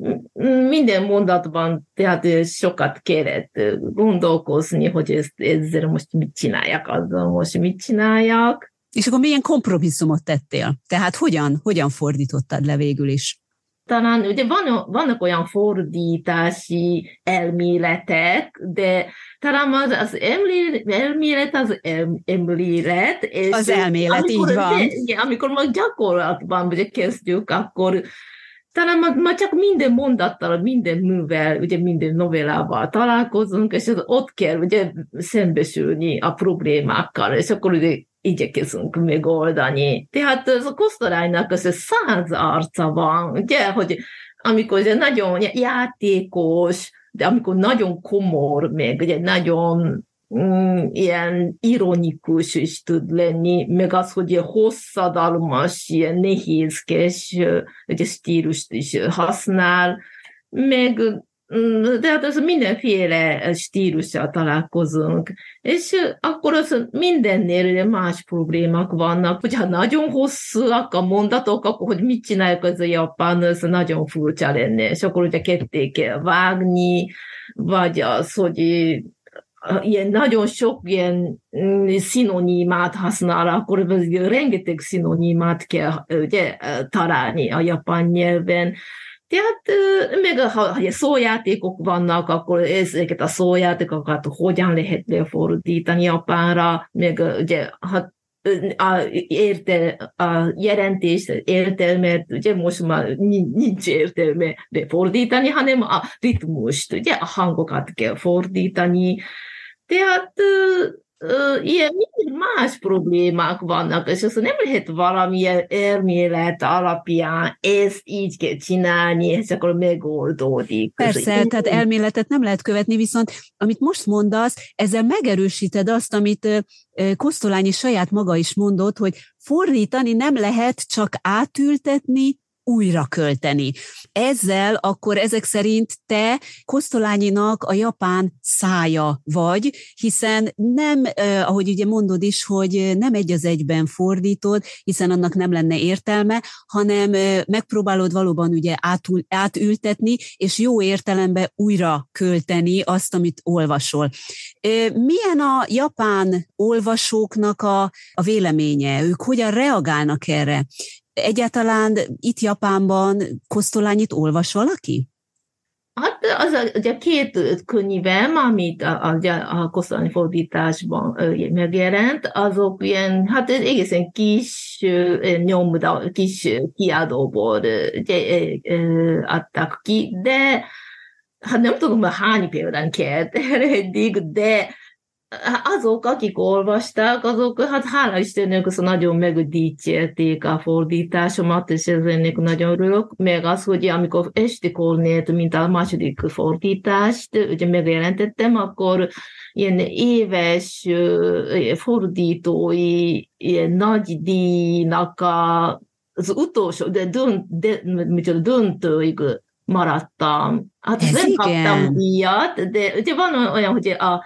minden mondatban tehát sokat kellett gondolkozni, hogy ezt, ezzel most mit csináljak, azzal most mit csináljak. És akkor milyen kompromisszumot tettél? Tehát hogyan, hogyan fordítottad le végül is? Talán ugye van, vannak olyan fordítási elméletek, de talán az, az elmélet az elmélet. És az elmélet, amikor, így van. De, amikor majd gyakorlatban ugye kezdjük, akkor talán már, már csak minden mondattal, minden művel, ugye minden novellával találkozunk, és ott kell ugye szembesülni a problémákkal, és akkor ugye igyekezünk megoldani. Tehát az a Kosztolánynak az száz arca van, ugye, hogy amikor ugye nagyon játékos, de amikor nagyon komor, meg ugye nagyon mm, ilyen ironikus is tud lenni, meg az, hogy ilyen hosszadalmas, ilyen nehézkes ugye stílust is használ, meg de hát az mindenféle stílussal találkozunk. És akkor az mindennél más problémák vannak, hogyha nagyon hosszúak a mondatok, akkor hogy mit csináljuk az a japán, az nagyon furcsa lenne. És akkor ugye ketté kell vágni, vagy az, hogy ilyen nagyon sok ilyen szinonimát használ, akkor rengeteg szinonimát kell ugye, találni a japán nyelven. Tehát meg ha szójátékok vannak, akkor ezeket a szójátékokat hogyan lehet lefordítani japánra, meg ugye ha a, érte, a jelentés értelmet, ugye most már nincs értelme lefordítani, hanem a ritmust, ugye a hangokat kell fordítani. Tehát Uh, ilyen más problémák vannak, és azt nem lehet valamilyen elmélet alapján ezt így kell csinálni, és akkor megoldódik. Persze, ez tehát elméletet nem lehet követni, viszont amit most mondasz, ezzel megerősíted azt, amit Kosztolányi saját maga is mondott, hogy fordítani nem lehet, csak átültetni, újra költeni. Ezzel akkor ezek szerint te Kosztolányinak a japán szája vagy, hiszen nem, eh, ahogy ugye mondod is, hogy nem egy az egyben fordítod, hiszen annak nem lenne értelme, hanem eh, megpróbálod valóban ugye átul, átültetni, és jó értelemben újra költeni azt, amit olvasol. Eh, milyen a japán olvasóknak a, a véleménye? Ők hogyan reagálnak erre? Egyáltalán itt Japánban Kosztolányit olvas valaki? Hát az a, ugye két könyvem, amit a, a, a Kosztolányi fordításban megjelent, azok ilyen, hát egészen kis nyomda, kis kiadóból ugye, adtak ki, de hát nem tudom, hogy hány példán kért eddig, de azok, akik olvasták, azok, hát hála Istennek, az nagyon megdicsérték a fordításomat, és ennek nagyon örülök, meg az, hogy amikor Esti Kornélt, mint a második fordítást, ugye megjelentettem, akkor ilyen éves fordítói ilyen nagy díjnak a, az utolsó, de, dönt, de micsoda, döntőig maradtam. Hát ez nem igen. kaptam díjat, de ugye van olyan, hogy a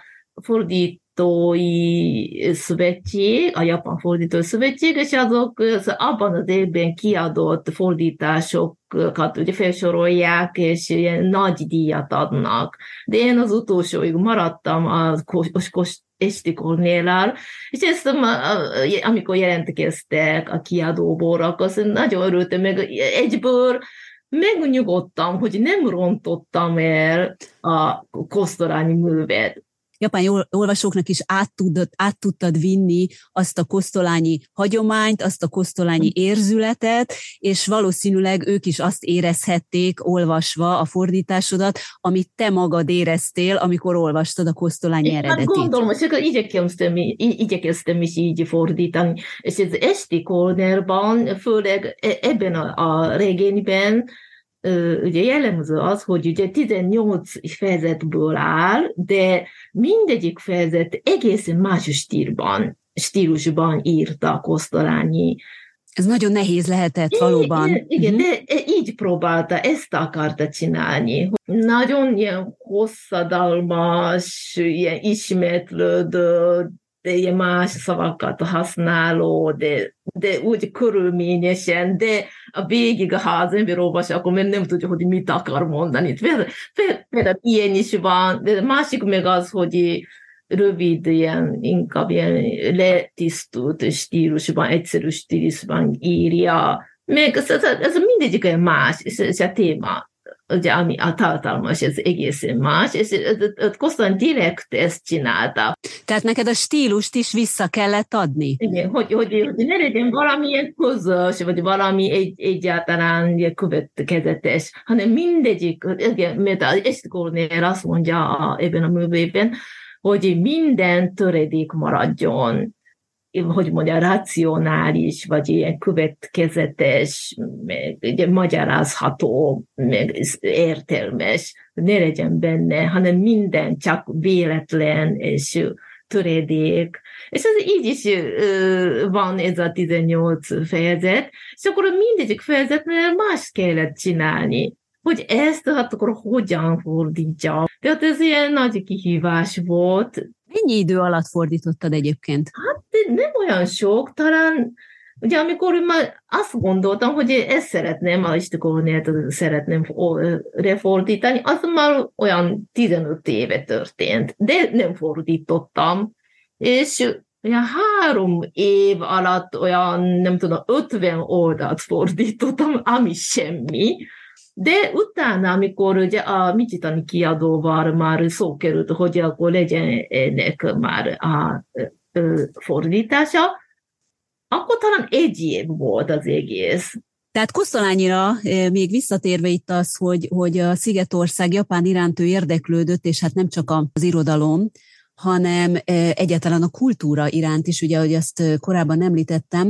fordítói szövetség, a Japán Fordítói Szövetség, és azok az abban az évben kiadott fordításokat ugye felsorolják, és ilyen nagy díjat adnak. De én az utolsóig maradtam a Esti Kornéllal, és ezt amikor jelentkeztek a kiadóból, akkor nagyon örültem, meg egyből megnyugodtam, hogy nem rontottam el a Kosztolányi művet. Japán olvasóknak is át tudtad, át tudtad vinni azt a kosztolányi hagyományt, azt a kosztolányi érzületet, és valószínűleg ők is azt érezhették, olvasva a fordításodat, amit te magad éreztél, amikor olvastad a kosztolányi eredetit. Hát gondolom, hogy igyekeztem, igyekeztem is így fordítani, és ez Esti Kornélban, főleg ebben a, a regényben, ugye jellemző az, hogy ugye tizennyolc fejezetből áll, de mindegyik fejezet egészen más stílban, stílusban írta Kosztolányi. Ez nagyon nehéz lehetett valóban. Igen, igen uh-huh. De így próbálta, ezt akarta csinálni. Nagyon ilyen hosszadalmas, ilyen ismétlődő, de ilyen más szavakat használó, de, de úgy körülményesen, de a végig, ha az ember olvas, akkor még nem tudja, hogy mit akar mondani. Például ilyen is van, de másik meg az, hogy rövid, ilyen, inkább ilyen letisztult stílusban, egyszerű stílusban írja. Még ez, ez, ez mindegyik olyan más, és, és a téma, ugye, ami a tartalmas, ez egészen más, és Kosztolányi direkt ezt csinálta. Tehát neked a stílust is vissza kellett adni? Igen, hogy, hogy, hogy ne legyen valamilyen közös, vagy valami egy, egyáltalán következetes, hanem mindegyik, igen, mert ezt Kornél azt mondja ebben a művében, hogy minden töredék maradjon, hogy mondja, racionális, vagy ilyen következetes, meg ugye, magyarázható, meg értelmes, ne legyen benne, hanem minden csak véletlen és töredék. És ez így is uh, van ez a tizennyolc fejezet, és akkor mindegyik fejezetnél más kellett csinálni, hogy ezt hát akkor hogyan fordítja. Tehát ez ilyen nagy kihívás volt. Mennyi idő alatt fordítottad egyébként? Hát nem olyan sok, talán, ugye amikor már azt gondoltam, hogy ezt szeretném, a Istikornélt szeretném refordítani, az már olyan tizenöt éve történt, de nem fordítottam. És olyan három év alatt olyan, nem tudom, ötven oldalt fordítottam, ami semmi. De utána, amikor ugye a Michitani kiadóval már szó került, hogy akkor legyen ennek már a fordítása, akkor talán egy év volt az egész. Tehát Kosztolányira még visszatérve itt az, hogy, hogy a Szigetország Japán iránt ő érdeklődött, és hát nem csak az irodalom, hanem egyáltalán a kultúra iránt is, ugye, ahogy azt korábban említettem.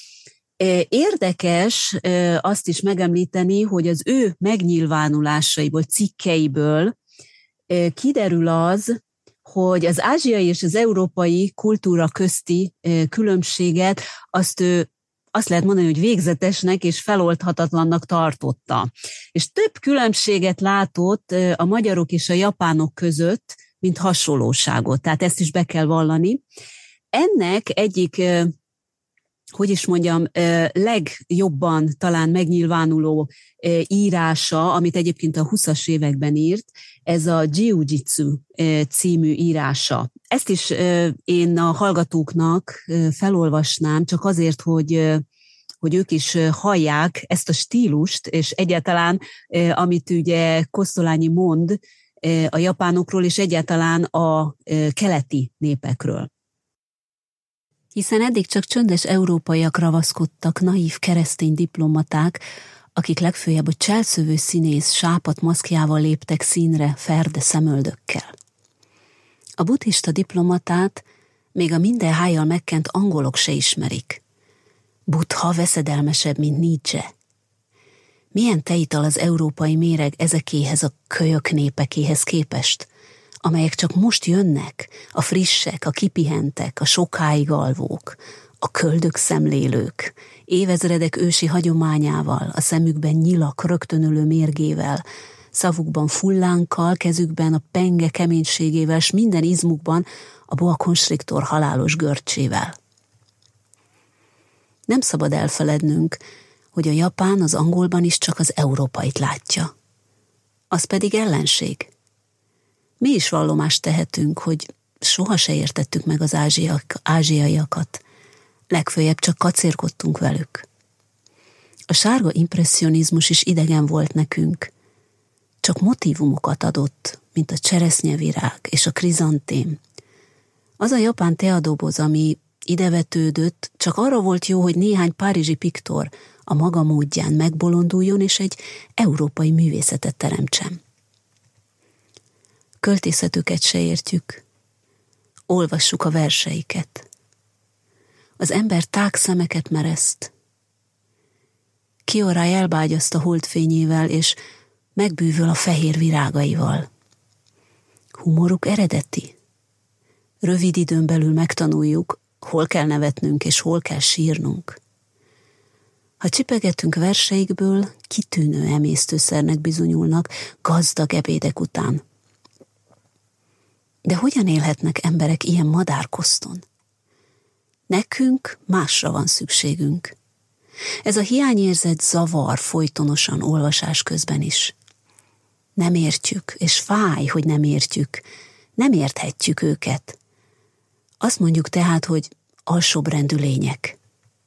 Érdekes azt is megemlíteni, hogy az ő megnyilvánulásaiból, cikkeiből kiderül az, hogy az ázsiai és az európai kultúra közti különbséget azt ő azt lehet mondani, hogy végzetesnek és feloldhatatlannak tartotta. És több különbséget látott a magyarok és a japánok között, mint hasonlóságot. Tehát ezt is be kell vallani. Ennek egyik, hogy is mondjam, legjobban talán megnyilvánuló írása, amit egyébként a huszas években írt, ez a Jiu-Jitsu című írása. Ezt is én a hallgatóknak felolvasnám, csak azért, hogy, hogy ők is hallják ezt a stílust, és egyáltalán, amit ugye Kosztolányi mond a japánokról, és egyáltalán a keleti népekről. Hiszen eddig csak csöndes európaiak ravaszkodtak, naív keresztény diplomaták, akik legfőjebb a cselszövő színész sápadt maszkjával léptek színre ferde szemöldökkel. A buddhista diplomatát még a minden hájjal megkent angolok se ismerik. Buddha veszedelmesebb, mint Nietzsche. Milyen teital az európai méreg ezekéhez a kölyök népekéhez képest, amelyek csak most jönnek, a frissek, a kipihentek, a sokáig alvók, a köldök szemlélők, évezredek ősi hagyományával, a szemükben nyilak rögtönölő mérgével, szavukban fullánkkal, kezükben a penge keménységével, s minden izmukban a boa constrictor halálos görcsével. Nem szabad elfelednünk, hogy a japán az angolban is csak az európait látja. Az pedig ellenség. Mi is vallomást tehetünk, hogy soha se értettük meg az ázsiak, ázsiaiakat, legfőjebb csak kacérkodtunk velük. A sárga impresszionizmus is idegen volt nekünk, csak motívumokat adott, mint a cseresznyevirág és a krizantém. Az a japán teadoboz, ami idevetődött, csak arra volt jó, hogy néhány párizsi piktor a maga módján megbolonduljon, és egy európai művészetet teremtsen. Költészetüket se értjük, olvassuk a verseiket. Az ember tág szemeket mereszt. Kiorai elbágyaszt a holdfényével, és megbűvöl a fehér virágaival. Humoruk eredeti. Rövid időn belül megtanuljuk, hol kell nevetnünk, és hol kell sírnunk. Ha csipegetünk verseikből, kitűnő emésztőszernek bizonyulnak gazdag ebédek után. De hogyan élhetnek emberek ilyen madárkoszton? Nekünk másra van szükségünk. Ez a hiányérzet zavar folytonosan olvasás közben is. Nem értjük, és fáj, hogy nem értjük. Nem érthetjük őket. Azt mondjuk tehát, hogy alsóbbrendű lények.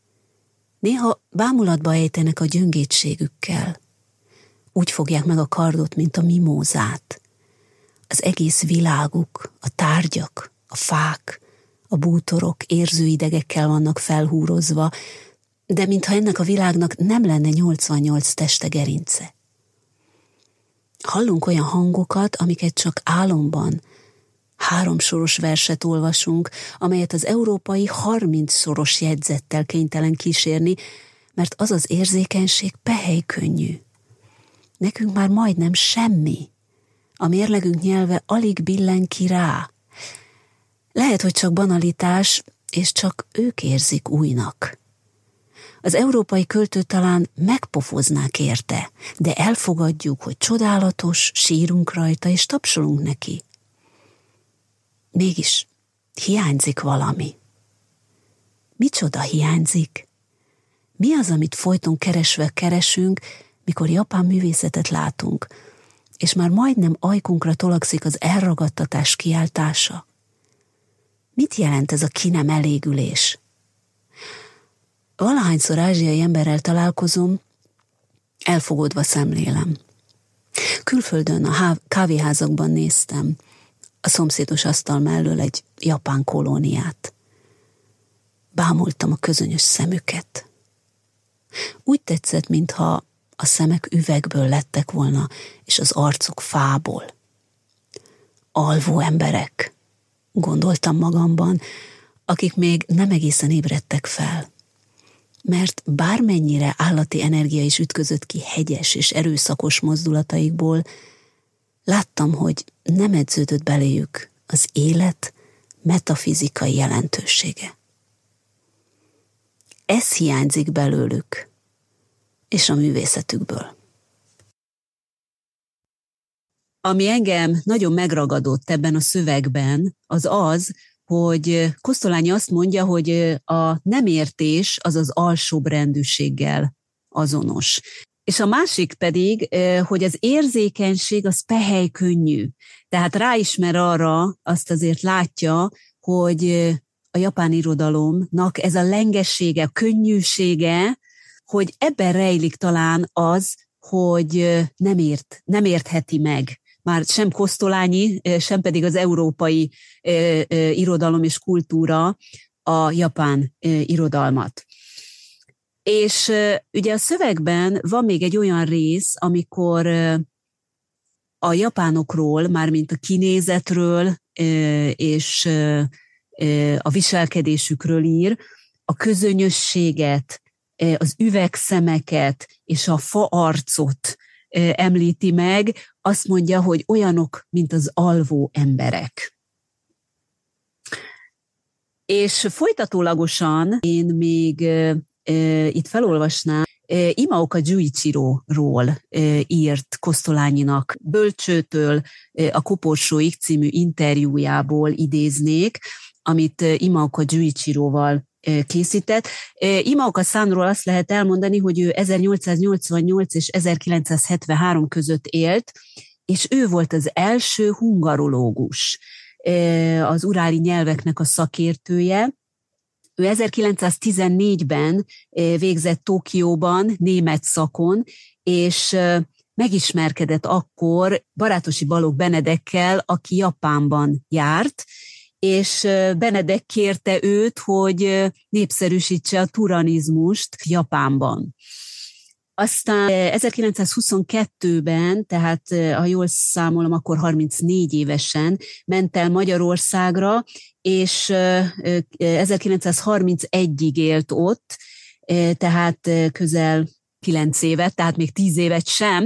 Néha bámulatba ejtenek a gyöngétségükkel. Úgy fogják meg a kardot, mint a mimózát. Az egész világuk, a tárgyak, a fák, a bútorok érzőidegekkel vannak felhúrozva, de mintha ennek a világnak nem lenne nyolcvannyolc teste gerince. Hallunk olyan hangokat, amiket csak álomban, háromsoros verset olvasunk, amelyet az európai harmincszoros jegyzettel kénytelen kísérni, mert az az érzékenység pehely-könnyű. Nekünk már majdnem semmi. A mérlegünk nyelve alig billen ki rá. Lehet, hogy csak banalitás, és csak ők érzik újnak. Az európai költő talán megpofoznák érte, de elfogadjuk, hogy csodálatos, sírunk rajta, és tapsolunk neki. Mégis hiányzik valami. Micsoda hiányzik? Mi az, amit folyton keresve keresünk, mikor japán művészetet látunk, és már majdnem ajkunkra tolakszik az elragadtatás kiáltása? Mit jelent ez a ki nem elégülés? Valahányszor ázsiai emberrel találkozom, elfogódva szemlélem. Külföldön a kávéházakban néztem a szomszédos asztal mellől egy japán kolóniát. Bámultam a közönyös szemüket. Úgy tetszett, mintha a szemek üvegből lettek volna, és az arcuk fából. Alvó emberek, gondoltam magamban, akik még nem egészen ébredtek fel. Mert bármennyire állati energia is ütközött ki hegyes és erőszakos mozdulataikból, láttam, hogy nem edződött beléjük az élet metafizikai jelentősége. Ez hiányzik belőlük, és a művészetükből. Ami engem nagyon megragadott ebben a szövegben, az az, hogy Kosztolányi azt mondja, hogy a nem értés az az alsóbbrendűséggel azonos. És a másik pedig, hogy az érzékenység az pehely-könnyű. Tehát ráismer arra, azt azért látja, hogy a japán irodalomnak ez a lengessége, a könnyűsége, hogy ebben rejlik talán az, hogy nem ért, nem értheti meg. Már sem Kosztolányi, sem pedig az európai eh, eh, irodalom és kultúra a japán eh, irodalmat. És eh, ugye a szövegben van még egy olyan rész, amikor eh, a japánokról, mármint a kinézetről eh, és eh, a viselkedésükről ír, a közönyösséget, eh, az üvegszemeket és a faarcot eh, említi meg, azt mondja, hogy olyanok, mint az alvó emberek. És folytatólagosan én még e, e, itt felolvasnám, e, Imaoka Junichiroról e, írt Kosztolányinak Bölcsőtől e, a Koporsóig című interjújából idéznék, amit e, Imaoka Junichiroval e, készített. E, Imaoka-sanról azt lehet elmondani, hogy ő ezernyolcszáznyolcvannyolc és ezerkilencszázhetvenhárom között élt, és ő volt az első hungarológus, az uráli nyelveknek a szakértője. Ő ezerkilencszáztizennégyben végzett Tokióban német szakon, és megismerkedett akkor Barátosi Balogh Benedekkel, aki Japánban járt, és Benedek kérte őt, hogy népszerűsítse a turanizmust Japánban. Aztán ezerkilencszázhuszonkettőben, tehát ha jól számolom, akkor harmincnégy évesen ment el Magyarországra, és ezerkilencszázharmincegyig élt ott, tehát közel kilenc évet, tehát még tíz évet sem,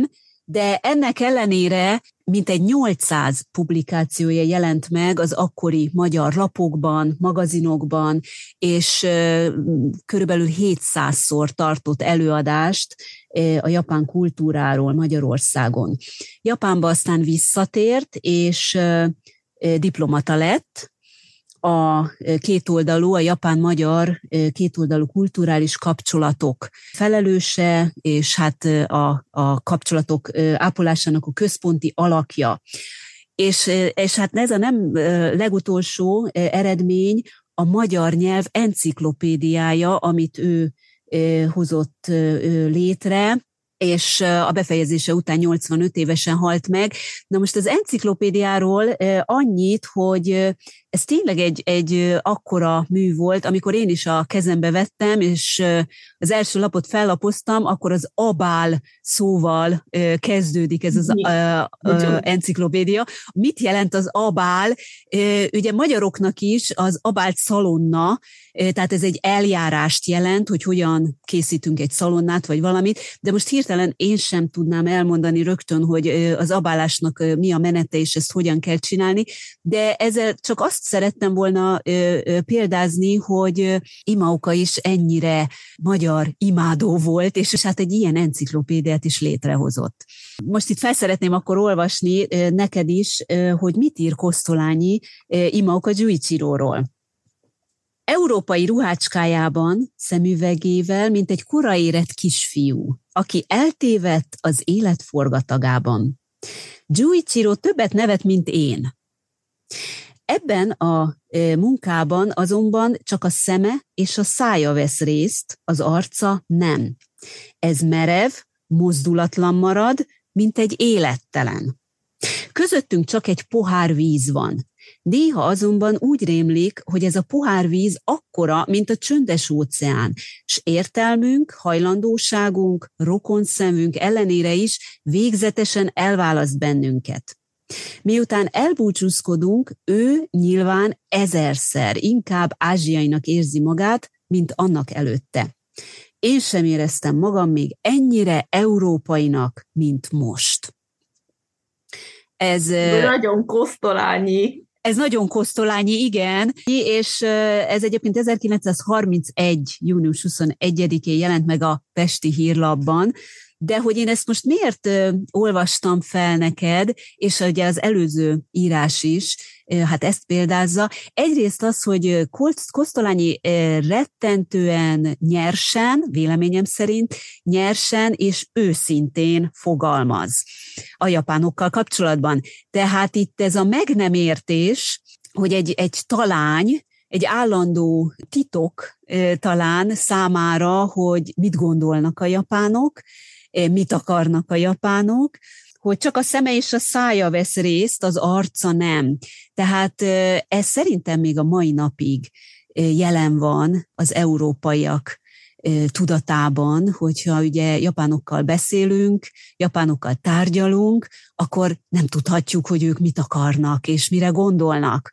de ennek ellenére mintegy nyolcszáz publikációja jelent meg az akkori magyar lapokban, magazinokban, és körülbelül hétszázszor tartott előadást a japán kultúráról Magyarországon. Japánba aztán visszatért, és diplomata lett, a kétoldalú, a japán-magyar kétoldalú kulturális kapcsolatok felelőse, és hát a, a kapcsolatok ápolásának a központi alakja. És, és hát ez a nem legutolsó eredmény a magyar nyelv enciklopédiája, amit ő hozott létre, és a befejezése után nyolcvanöt évesen halt meg. Na most az enciklopédiáról annyit, hogy ez tényleg egy, egy akkora mű volt, amikor én is a kezembe vettem, és az első lapot fellapoztam, akkor az abál szóval kezdődik ez az a, a, enciklopédia. Mit jelent az abál? Ugye magyaroknak is az abált szalonna, tehát ez egy eljárást jelent, hogy hogyan készítünk egy szalonnát, vagy valamit, de most hirtelen én sem tudnám elmondani rögtön, hogy az abálásnak mi a menete, és ezt hogyan kell csinálni, de ezzel csak azt szerettem volna példázni, hogy Imaoka is ennyire magyar imádó volt, és hát egy ilyen enciklopédiát is létrehozott. Most itt fel szeretném akkor olvasni neked is, hogy mit ír Kosztolányi Imaoka Junichiroról. Európai ruhácskájában, szemüvegével, mint egy koraérett kisfiú, aki eltévedt az élet forgatagában. Junichiro többet nevet, mint én. Ebben a munkában azonban csak a szeme és a szája vesz részt, az arca nem. Ez merev, mozdulatlan marad, mint egy élettelen. Közöttünk csak egy pohár víz van. Néha azonban úgy rémlik, hogy ez a pohár víz akkora, mint a csöndes óceán, s értelmünk, hajlandóságunk, rokonszemünk ellenére is végzetesen elválaszt bennünket. Miután elbúcsúzkodunk, ő nyilván ezerszer inkább ázsiainak érzi magát, mint annak előtte. Én sem éreztem magam még ennyire európainak, mint most. Ez nagyon Kosztolányi. Ez nagyon Kosztolányi, igen, és ez egyébként ezerkilencszázharmincegy. június huszonegyedikén jelent meg a Pesti Hírlapban, de hogy én ezt most miért olvastam fel neked, és ugye az előző írás is, hát ezt példázza. Egyrészt az, hogy Kosztolányi rettentően nyersen, véleményem szerint, nyersen és őszintén fogalmaz a japánokkal kapcsolatban. Tehát itt ez a meg nem értés, hogy egy, egy talány, egy állandó titok talán számára, hogy mit gondolnak a japánok, mit akarnak a japánok, hogy csak a szeme és a szája vesz részt, az arca nem. Tehát ez szerintem még a mai napig jelen van az európaiak tudatában, hogyha ugye japánokkal beszélünk, japánokkal tárgyalunk, akkor nem tudhatjuk, hogy ők mit akarnak és mire gondolnak.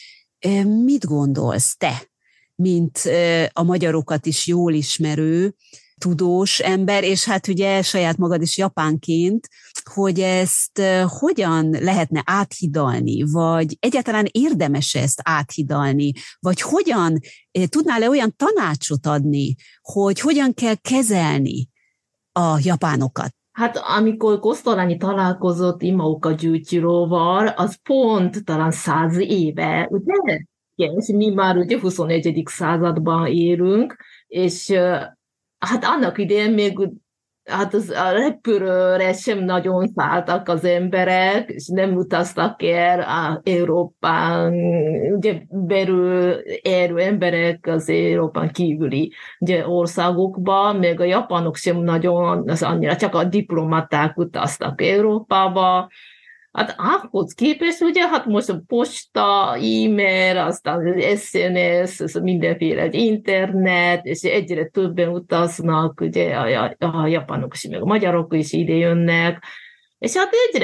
Mit gondolsz te, mint a magyarokat is jól ismerő, tudós ember, és hát ugye saját magad is japánként, hogy ezt hogyan lehetne áthidalni, vagy egyáltalán érdemes ezt áthidalni, vagy hogyan tudnál-e olyan tanácsot adni, hogy hogyan kell kezelni a japánokat? Hát amikor Kosztolányi találkozott Imaoka Junichiroval, az pont talán száz éve, ugye? És mi már ugye huszonegyedik században élünk, és hát annak idején még hát az, a repülőre sem nagyon szálltak az emberek, és nem utaztak el a Európán, ugye belül élő emberek az Európán kívüli ugye, országokba, még a japánok sem nagyon, az annyira, csak a diplomaták utaztak Európába. Hát ahhoz képest, ugye, hát most a posta, e-mail, aztán az es en es, az mindenféle internet, és egyre többen utaznak, ugye a, a, a japánok is, meg a magyarok is ide jönnek, és hát egyre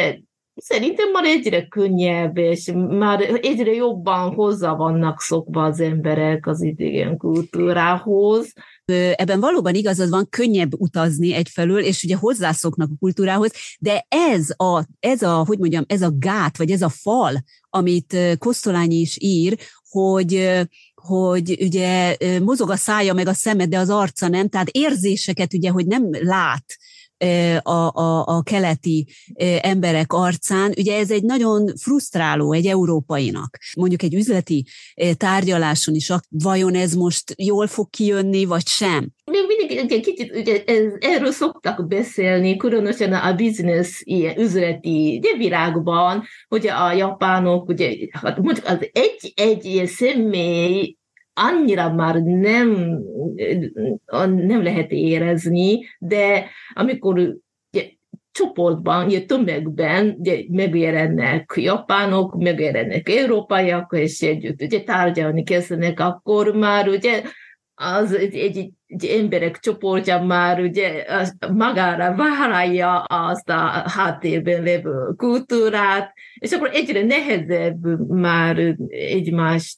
Szerintem már egyre könnyebb, és már egyre jobban hozzá vannak szokva az emberek az idegen kultúrához. Ebben valóban igazad van, könnyebb utazni egyfelől, és ugye hozzászoknak a kultúrához, de ez a, ez a, hogy mondjam, ez a gát, vagy ez a fal, amit Kosztolányi is ír, hogy, hogy ugye mozog a szája meg a szeme, de az arca nem, tehát érzéseket ugye, hogy nem lát a, a, a keleti emberek arcán, ugye ez egy nagyon frusztráló egy európainak. Mondjuk egy üzleti tárgyaláson is, vajon ez most jól fog kijönni, vagy sem? Még mindig egy kicsit ugye, ez, erről szoktak beszélni, különösen a business, ilyen üzleti ugye, világban, hogy a japánok, ugye, hát mondjuk az egy, egy ilyen személy annyira már nem, nem lehet érezni, de amikor ugye, csoportban, ugye, tömegben ugye, megjelennek japánok, megjelennek európaiak, és együtt ugye, tárgyalni kezdenek, akkor már ugye, az egy, egy, egy emberek csoportja már ugye, magára vállalja azt a háttérben lévő kultúrát, és akkor egyre nehezebb már egymást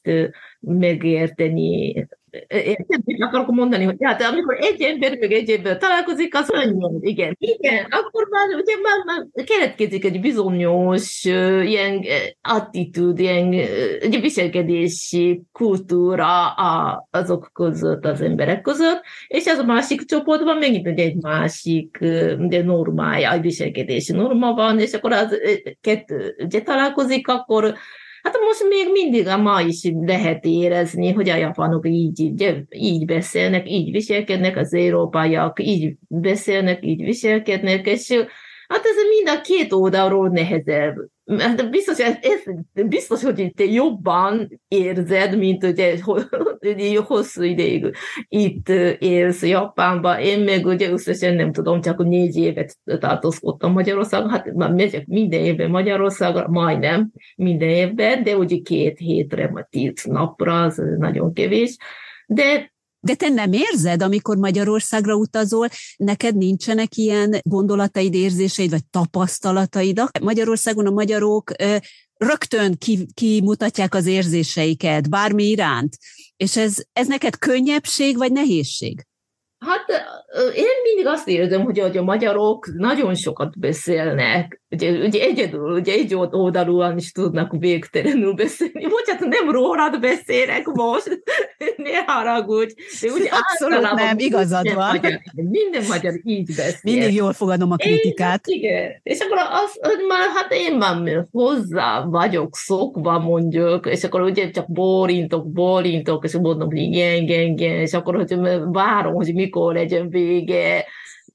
megérteni. Mit akarok mondani, hogy hát amikor egy ember meg egy ember találkozik, az annyi, igen. Igen, akkor már ugye már, már keletkezik egy bizonyos uh, ilyen attitűd, ilyen uh, viselkedési kultúra a, azok között, az emberek között, és az a másik csoportban megint ugye egy másik uh, normája, egy viselkedési norma van, és akkor az uh, kettő ugye találkozik, akkor hát most még mindig a ma is lehet érezni, hogy a japánok így, így, így beszélnek, így viselkednek, az európaiak így beszélnek, így viselkednek, és hát ez mind a két oldalról nehezebb. Biztos, ez, ez, biztos, hogy te jobban érzed, mint ugye, hogy hosszú ideig itt élsz Japánban. Én meg ugye összesen nem tudom, csak négy évet tartózkodtam Magyarországon, hát már megyek minden évben Magyarországra, majdnem minden évben, de ugye két hétre, vagy tíz napra, az nagyon kevés. De De te nem érzed, amikor Magyarországra utazol, neked nincsenek ilyen gondolataid, érzéseid, vagy tapasztalataid? Magyarországon a magyarok ö, rögtön kimutatják az érzéseiket, bármi iránt. És ez, ez neked könnyebbség, vagy nehézség? Hát én mindig azt érzem, hogy a magyarok nagyon sokat beszélnek. Ugye, ugye egyedül, ugye egy oldalúan is tudnak végtelenül beszélni. Bocsánat, nem rólad beszélek most, ne haragudj. De ugye abszolút nem, igazad minden van. Magyar, minden magyar így beszél. Mindig jól fogadom a kritikát. Én, igen. És akkor az, már, hát én már hozzá vagyok szokva, mondjuk, és akkor ugye csak bólintok, bólintok, és mondom, hogy igen, igen, igen, és akkor hogy várom, hogy mikor legyen vége.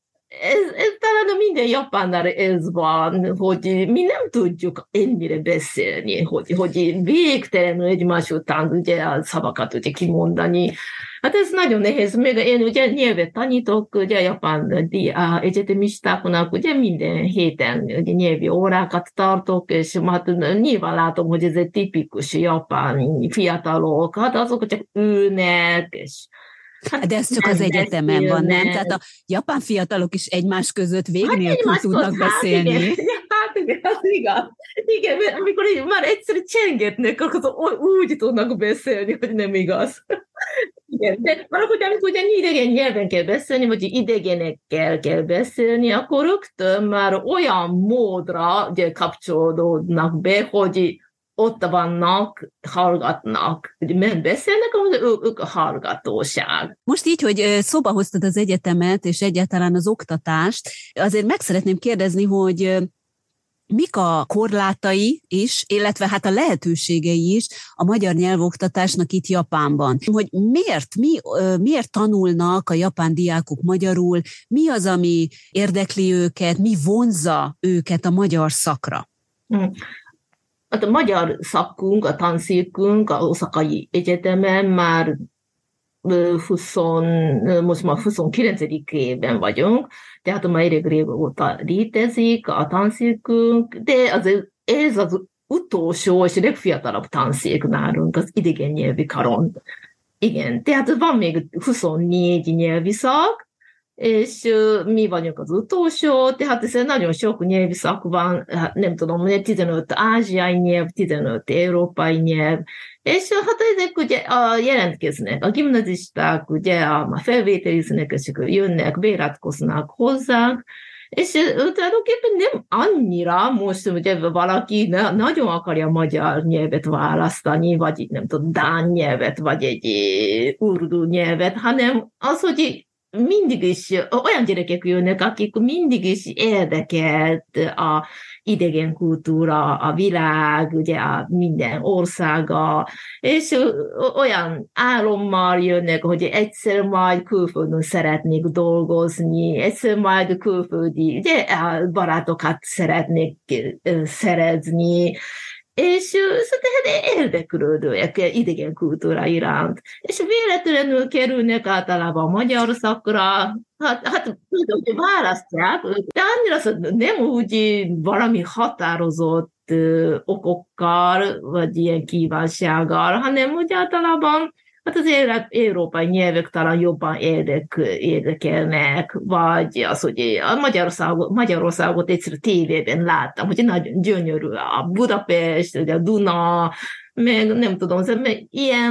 Ez, ez talán minden japánnál ez van, hogy mi nem tudjuk ennyire beszélni, hogy, hogy végtelenül egymás után ugye a szavakat ugye kimondani. Hát ez nagyon nehéz. Még én ugye nyelvet tanítok, ugye japán egyetemistáknak, ugye minden héten ugye nyelvi órákat tartok, és hát nyilván látom, hogy ez egy tipikus japán fiatalok, hát azok csak ülnek, és Hát de ez csak az egyetemen van, nem? Tehát a japán fiatalok is egymás között vég hát nélkül tudnak hát beszélni. Igen, hát igen, az igaz. Igen, mert amikor már egyszerűen csengetnek, akkor úgy tudnak beszélni, hogy nem igaz. Igen, de valahogy amikor ugye idegen nyelven kell beszélni, vagy idegenekkel kell beszélni, akkor rögtön már olyan módra ugye, kapcsolódnak be, hogy ott vannak, hallgatnak. Nem beszélnek, ők, ők a hallgatóság. Most így, hogy szóba hoztad az egyetemet, és egyáltalán az oktatást, azért meg szeretném kérdezni, hogy mik a korlátai is, illetve hát a lehetőségei is a magyar nyelvoktatásnak itt Japánban. Hogy miért, mi, miért tanulnak a japán diákok magyarul, mi az, ami érdekli őket, mi vonzza őket a magyar szakra? Hmm. Hát a magyar szakunk, a tanszékünk az Oszakai Egyetemen már húsz, most már huszonkilencedik évben vagyunk, tehát már elég régóta létezik a tanszékünk, de az, ez az utolsó és legfiatalabb tanszék nálunk az idegen nyelvi karon. Igen, tehát van még huszonnégy nyelvi szak, és mi vagyunk az utolsó, tehát ez egy nagyon sok nyelvszak van, hát nem tudom, tizenöt ázsiai nyelv, tizenöt európai nyelv, és hát ezek ugye a, jelentkeznek, a gimnazisták ugye a felvételiznek, és jönnek, beiratkoznak hozzánk, és tulajdonképpen nem annyira most, ugye valaki ne, nagyon akarja magyar nyelvet választani, vagy nem tudom, dán nyelvet, vagy egy urdu nyelvet, hanem az, hogy mindig is olyan gyerekek jönnek, akik mindig is érdekelt a idegen kultúra, a világ, ugye a minden országa, és olyan álommal jönnek, hogy egyszer majd külföldön szeretnék dolgozni, egyszer majd külföldi ugye, barátokat szeretnék szerezni, és tehát érdeklődőek idegen kultúra iránt. És véletlenül kerülnek általában a magyar szakra, hát, hát hogy választják, de annyira nem úgy valami határozott ö, okokkal, vagy ilyen kívánsággal, hanem úgy általában hát az európai nyelvek talán jobban érdek, érdekelnek, vagy az, hogy a Magyarországot, Magyarországot egyszer tévében láttam, hogy nagyon gyönyörű a Budapest, a Duna, meg nem tudom, ilyen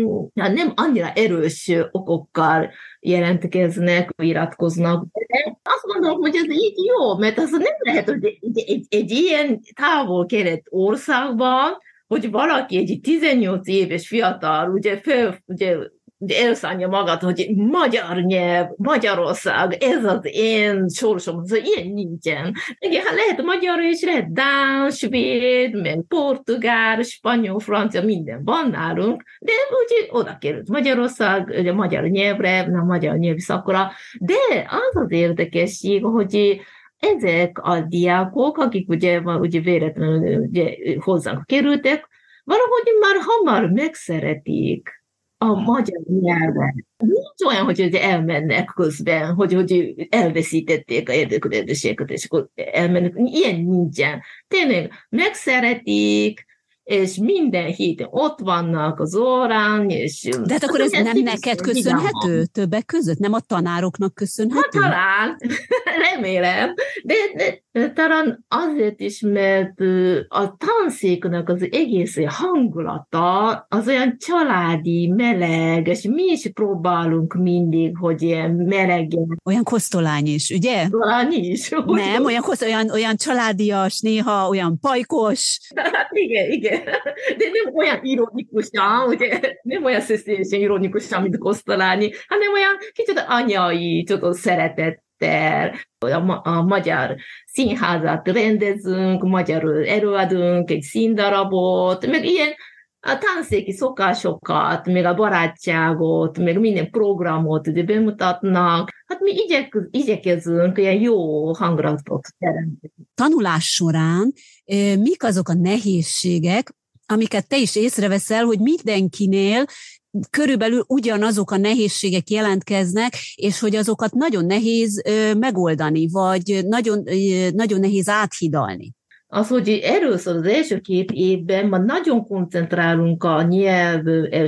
nem annyira erős okokkal jelentkeznek, iratkoznak. De azt gondolom, hogy ez így jó, mert az nem lehet, hogy egy, egy, egy ilyen távol-kelet országban, hogy valaki egy tizennyolc éves fiatal, ugye, fel, ugye, ugye elszánja magát, hogy magyar nyelv, Magyarország, ez az én sorsom, az ilyen nincsen. Igen, hát lehet magyar is, lehet dán, svéd, meg portugál, spanyol, francia, minden van nálunk, de úgy oda került Magyarország, ugye magyar nyelvre, a magyar nyelvi szakra, de az az érdekesség, hogy ezek a diákok, akik ugye, ugye véletlenül ugye, hozzánk kerültek, valahogy már hamar megszeretik a magyar nyelvet. Nincs olyan, hogy elmennek közben, hogy, hogy elveszítették a érdeklődéseket, és akkor elmennek. Ilyen nincsen. Tényleg megszeretik, és minden héten ott vannak az órán, és... De hát akkor ez nem neked köszönhető többek között? Nem a tanároknak köszönhető? Hát talán, remélem, de, de talán azért is, mert a tanszéknek az egész hangulata az olyan családi, meleg, és mi is próbálunk mindig, hogy ilyen melegen. Olyan kosztolány is, ugye? Talán is. Nem, olyan, kosz, olyan, olyan családias, néha olyan pajkos. Hát igen, igen. De nem olyan ironikusan, ugye, nem olyan szeszélyesen ironikusan, mint Kosztolányi, hanem olyan kicsit anyai, tudod, szeretettel. A, a magyar színházat rendezünk, magyarul előadunk egy színdarabot, meg ilyen a tanszéki szokásokat, meg a barátságot, meg minden programot ugye bemutatnak. Hát mi igyek, igyekezünk ilyen jó hangulatot teremteni. Tanulás során mik azok a nehézségek, amiket te is észreveszel, hogy mindenkinél körülbelül ugyanazok a nehézségek jelentkeznek, és hogy azokat nagyon nehéz megoldani, vagy nagyon, nagyon nehéz áthidalni? Az, hogy először az első két évben már nagyon koncentrálunk a nyelv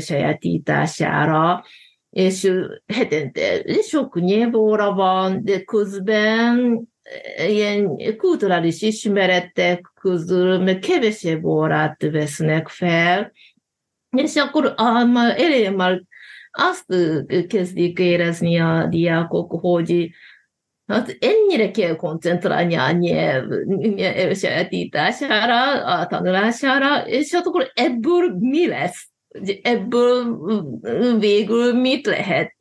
elsajátítására, és hetente sok nyelvóra van, de közben ilyen kulturális ismeretek közül meg kevesebb órát vesznek fel, és akkor már elején már azt kezdik érezni a diákok, hogy hát ennyire kell koncentrálni a nyelv elsajátítására, a tanulására, és hát akkor ebből mi lesz? Ebből végül mit lehet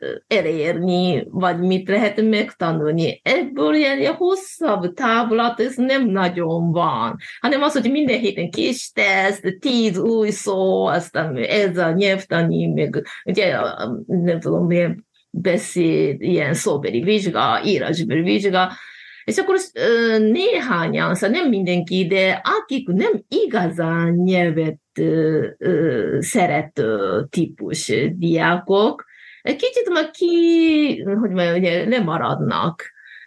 elérni, vagy mit lehet megtanulni? Ebből ilyen hosszabb távlat, ez nem nagyon van, hanem az, hogy minden héten kis teszt, tíz új szó, aztán ez a nyelvtani, meg ugye nem tudom, milyen beszéd, ilyen szóbeli vizsga, írásbeli vizsga, és akkor néhányan, szóval nem mindenki, de akik nem igazán nyelvet ö, ö, szerető típus diákok, kicsit már ki, hogy mondjam, ugye lemaradnak.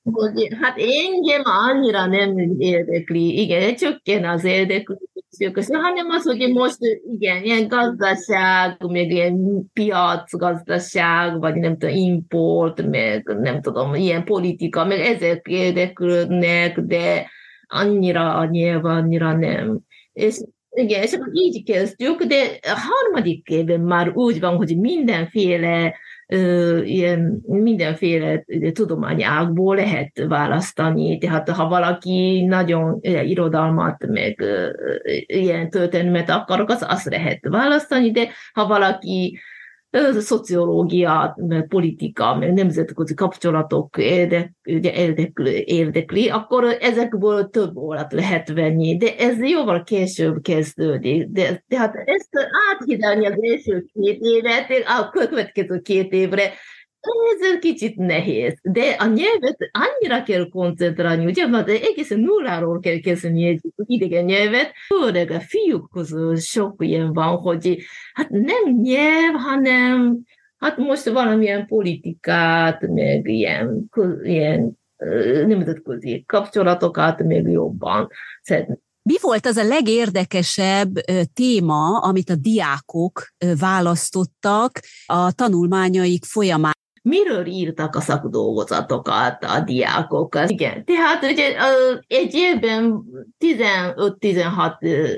hogy hát engem annyira nem érdekli, igen, csökken az érdeklődésük, hanem az, hogy most igen, ilyen gazdaság, meg ilyen piacgazdaság, vagy nem tudom, import, meg nem tudom, ilyen politika, meg ezek érdeklődnek, de annyira nyilván, annyira nem. És igen, és akkor így kezdjük, de a harmadik évben már úgy van, hogy mindenféle Ö, ilyen mindenféle tudományágból lehet választani, tehát ha valaki nagyon ö, irodalmat, meg ö, ilyen történelmet akarok, az azt lehet választani, de ha valaki ö, szociológia, meg politika, meg nemzetközi kapcsolatok érdek, ugye érdekli, érdekli, akkor ezekből több órát lehet venni, de ez jóval később kezdődik. De, tehát ezt áthidalni az első két évet, a következő két évre, ez kicsit nehéz, de a nyelvet annyira kell koncentrálni, ugye, mert egészen nulláról kell kezdeni egy idegen nyelvet, főleg a fiúk közül sok ilyen van, hogy hát nem nyelv, hanem hát most valamilyen politikát, meg ilyen, ilyen nemzetközi kapcsolatokat még jobban szeretnék. Mi volt az a legérdekesebb téma, amit a diákok választottak a tanulmányaik folyamán? Miről írtak a szakdolgozatokat a diákok? Igen, tehát ugye egy évben tizenöt-tizenhat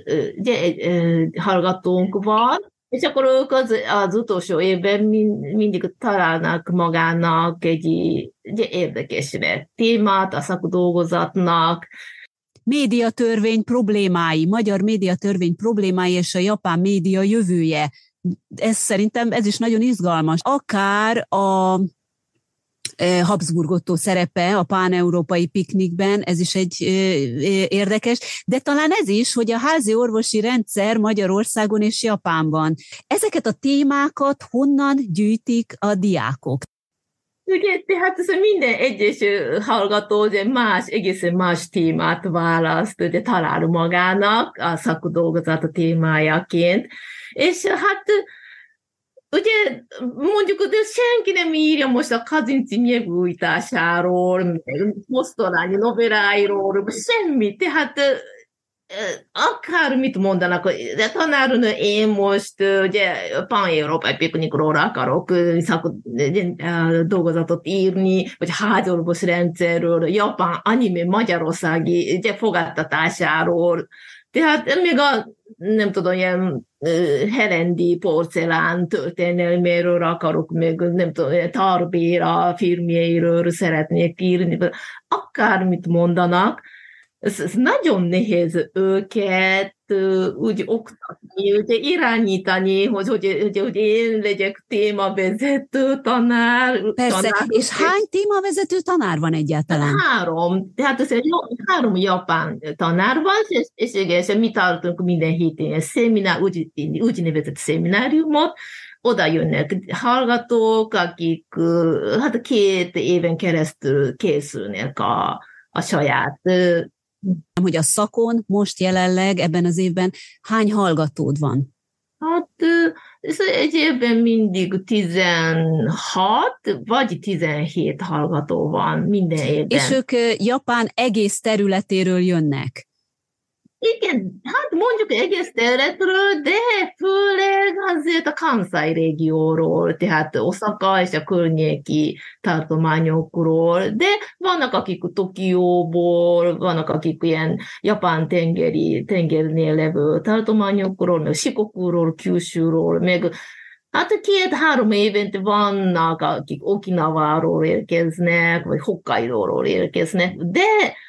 hallgatónk van, és akkor ők az, az utolsó évben mind, mindig találnak magának egy, egy érdekes témát a szakdolgozatnak. Médiatörvény problémái, magyar médiatörvény problémái és a japán média jövője. Ez szerintem ez is nagyon izgalmas. Akár a Habsburg Otto szerepe a pán-európai piknikben, ez is egy érdekes, de talán ez is, hogy a házi orvosi rendszer Magyarországon és Japánban. Ezeket a témákat honnan gyűjtik a diákok? Ugye, tehát ez minden egyes hallgató ugye más, egészen más témát választ, ugye talál magának a szakdolgozat a témájaként, és hát ugye mondjuk, hogy senki nem írja most a Kazinci nyelvújtásáról, Mosztolányi novelláiról, semmi, tehát akármit mondanak, de tanárnő, én most ugye pán-európai piknikról akarok szakot, dolgozatot írni, vagy házorvos rendszerről, japán anime magyarországi ugye, fogadtatásáról. Tehát még a, nem tudom, ilyen herendi porcelán történelméről akarok, még nem tudom, Tarbéra filmjeiről szeretnék írni, akármit mondanak, Ez, ez nagyon nehéz őket uh, úgy oktatni, ugye irányítani, hogy, hogy, hogy, hogy én legyek témavezető tanár. Persze, tanár, és hány témavezető tanár van egyáltalán? Három. Tehát ez egy három japán tanár van, és, és, és, és mi tartunk minden héten egy szeminár, úgy, úgynevezett szemináriumot, oda jönnek hallgatók, akik uh, hát két éven keresztül készülnek a, a saját uh, hogy a szakon most jelenleg ebben az évben hány hallgatód van? Hát ez egy évben mindig tizenhat vagy tizenhét hallgató van minden évben. És ők Japán egész területéről jönnek? Igen, hát mondjuk egész területről, de főleg azért a Kansai régióról, tehát Oszaka és a környéki tartományokról, de vannak akik Tokióból, vannak akik ilyen japán tengeri, tengernél levő tartományokról, meg Shikokuról, Kyushuról, meg hát két-három évente vannak, akik Okinaváról érkeznek, vagy Hokkaidóról érkeznek, de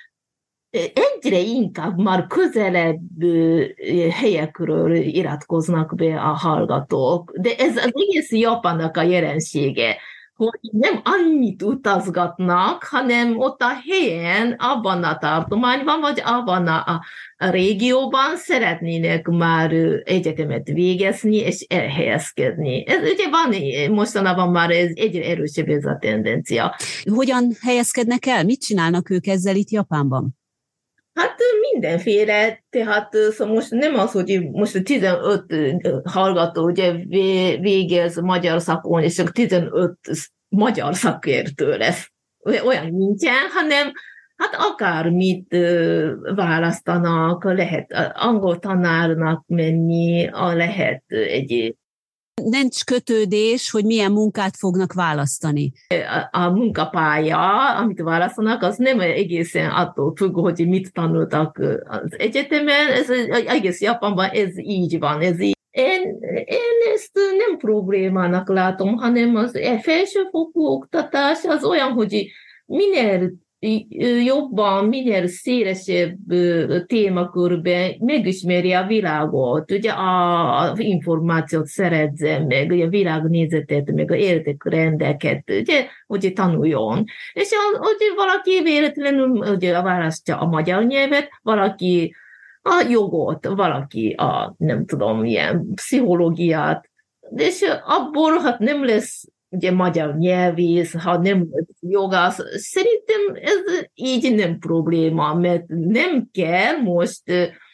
egyre inkább már közelebb helyekről iratkoznak be a hallgatók. De ez az egész Japánnak a jelensége, hogy nem annyit utazgatnak, hanem ott a helyen, abban a tartományban, vagy abban a, a régióban szeretnének már egyetemet végezni, és elhelyezkedni. Ez ugye van, mostanában már ez egyre erősebb ez a tendencia. Hogyan helyezkednek el? Mit csinálnak ők ezzel itt Japánban? Hát mindenféle, tehát szóval most nem az, hogy most tizenöt hallgató ugye végez magyar szakon, és csak tizenöt magyar szakértő lesz. olyan nincsen, hanem hát akármit választanak, lehet angol tanárnak menni, lehet egy... Nincs kötődés, hogy milyen munkát fognak választani. A, a munkapálya, amit választanak, az nem egészen attól függ, hogy mit tanultak az egyetemen, ez egész Japánban ez így van, ez így. Én, én ezt nem problémának látom, hanem az felsőfokú oktatás az olyan, hogy minél jobban, minél szélesebb témakörben megismeri a világot, ugye az információt szerezzen meg, ugye a világnézetet, meg a értékrendeket, ugye, hogy tanuljon. És hogy valaki véletlenül ugye, választja a magyar nyelvet, valaki a jogot, valaki a, nem tudom, ilyen pszichológiát, és abból hát nem lesz ugye magyar nyelvész, ha nem jogász. Szerintem ez így nem probléma, mert nem kell most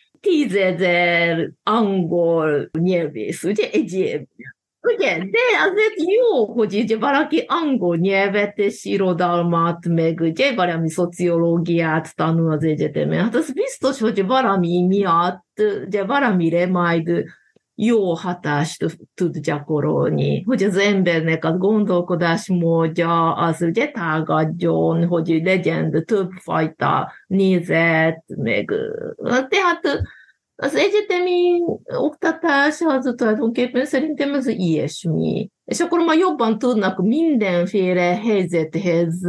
tízezer angol nyelvész, ugye, egy évben. Ugye, de azért jó, hogy ugye valaki angol nyelvet és irodalmat, meg ugye valami szociológiát tanul az egyetemen. Hát az biztos, hogy valami miatt, ugye valamire majd jó hatást tud gyakorolni, hogy az embernek a gondolkodásmódja az ugye tágadjon, hogy legyen többfajta nézet, meg tehát az egyetemi oktatás az tulajdonképpen szerintem az ilyesmi. És akkor már jobban tudnak mindenféle helyzethez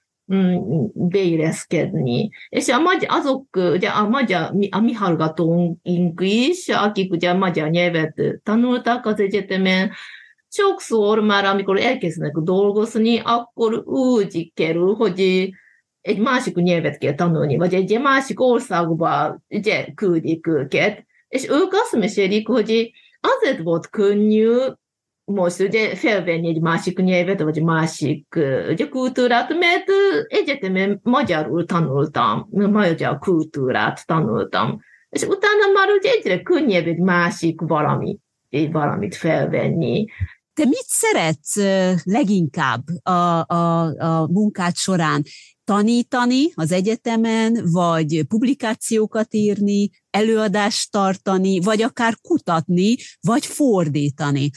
beilleszkedni. És a magyar, azok, ugye a magyar, a mi hallgatóink is, akik ugye a magyar nyelvet tanultak az egyetemen, sokszor már, amikor elkezdenek dolgozni, akkor úgy kerül, hogy egy másik nyelvet kell tanulni, vagy egy másik országba ugye, küldik őket, és ők azt mesélik, hogy azért volt könnyű most ugye felvenni egy másik nyelvet, vagy másik ugye, kultúrát, mert egyetemen magyarul tanultam, magyar kultúrát tanultam, és utána már ugye egyre könnyebb egy másik valami, egy valamit felvenni. Te mit szeretsz leginkább a, a, a munkád során? Tanítani az egyetemen, vagy publikációkat írni, előadást tartani, vagy akár kutatni, vagy fordítani.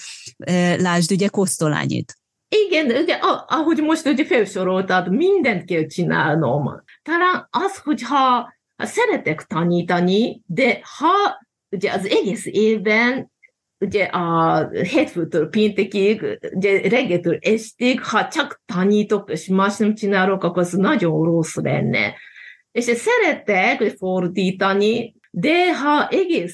Lásd ugye Kosztolányit. Igen, ugye, ahogy most ugye felsoroltad, mindent kell csinálnom. Talán az, hogyha ha szeretek tanítani, de ha ugye az egész évben ugye a hétfőtől péntekig, ugye reggeltől estig, ha csak tanítok, és más nem csinálok, akkor az nagyon rossz lenne. És szeretek fordítani, de ha egész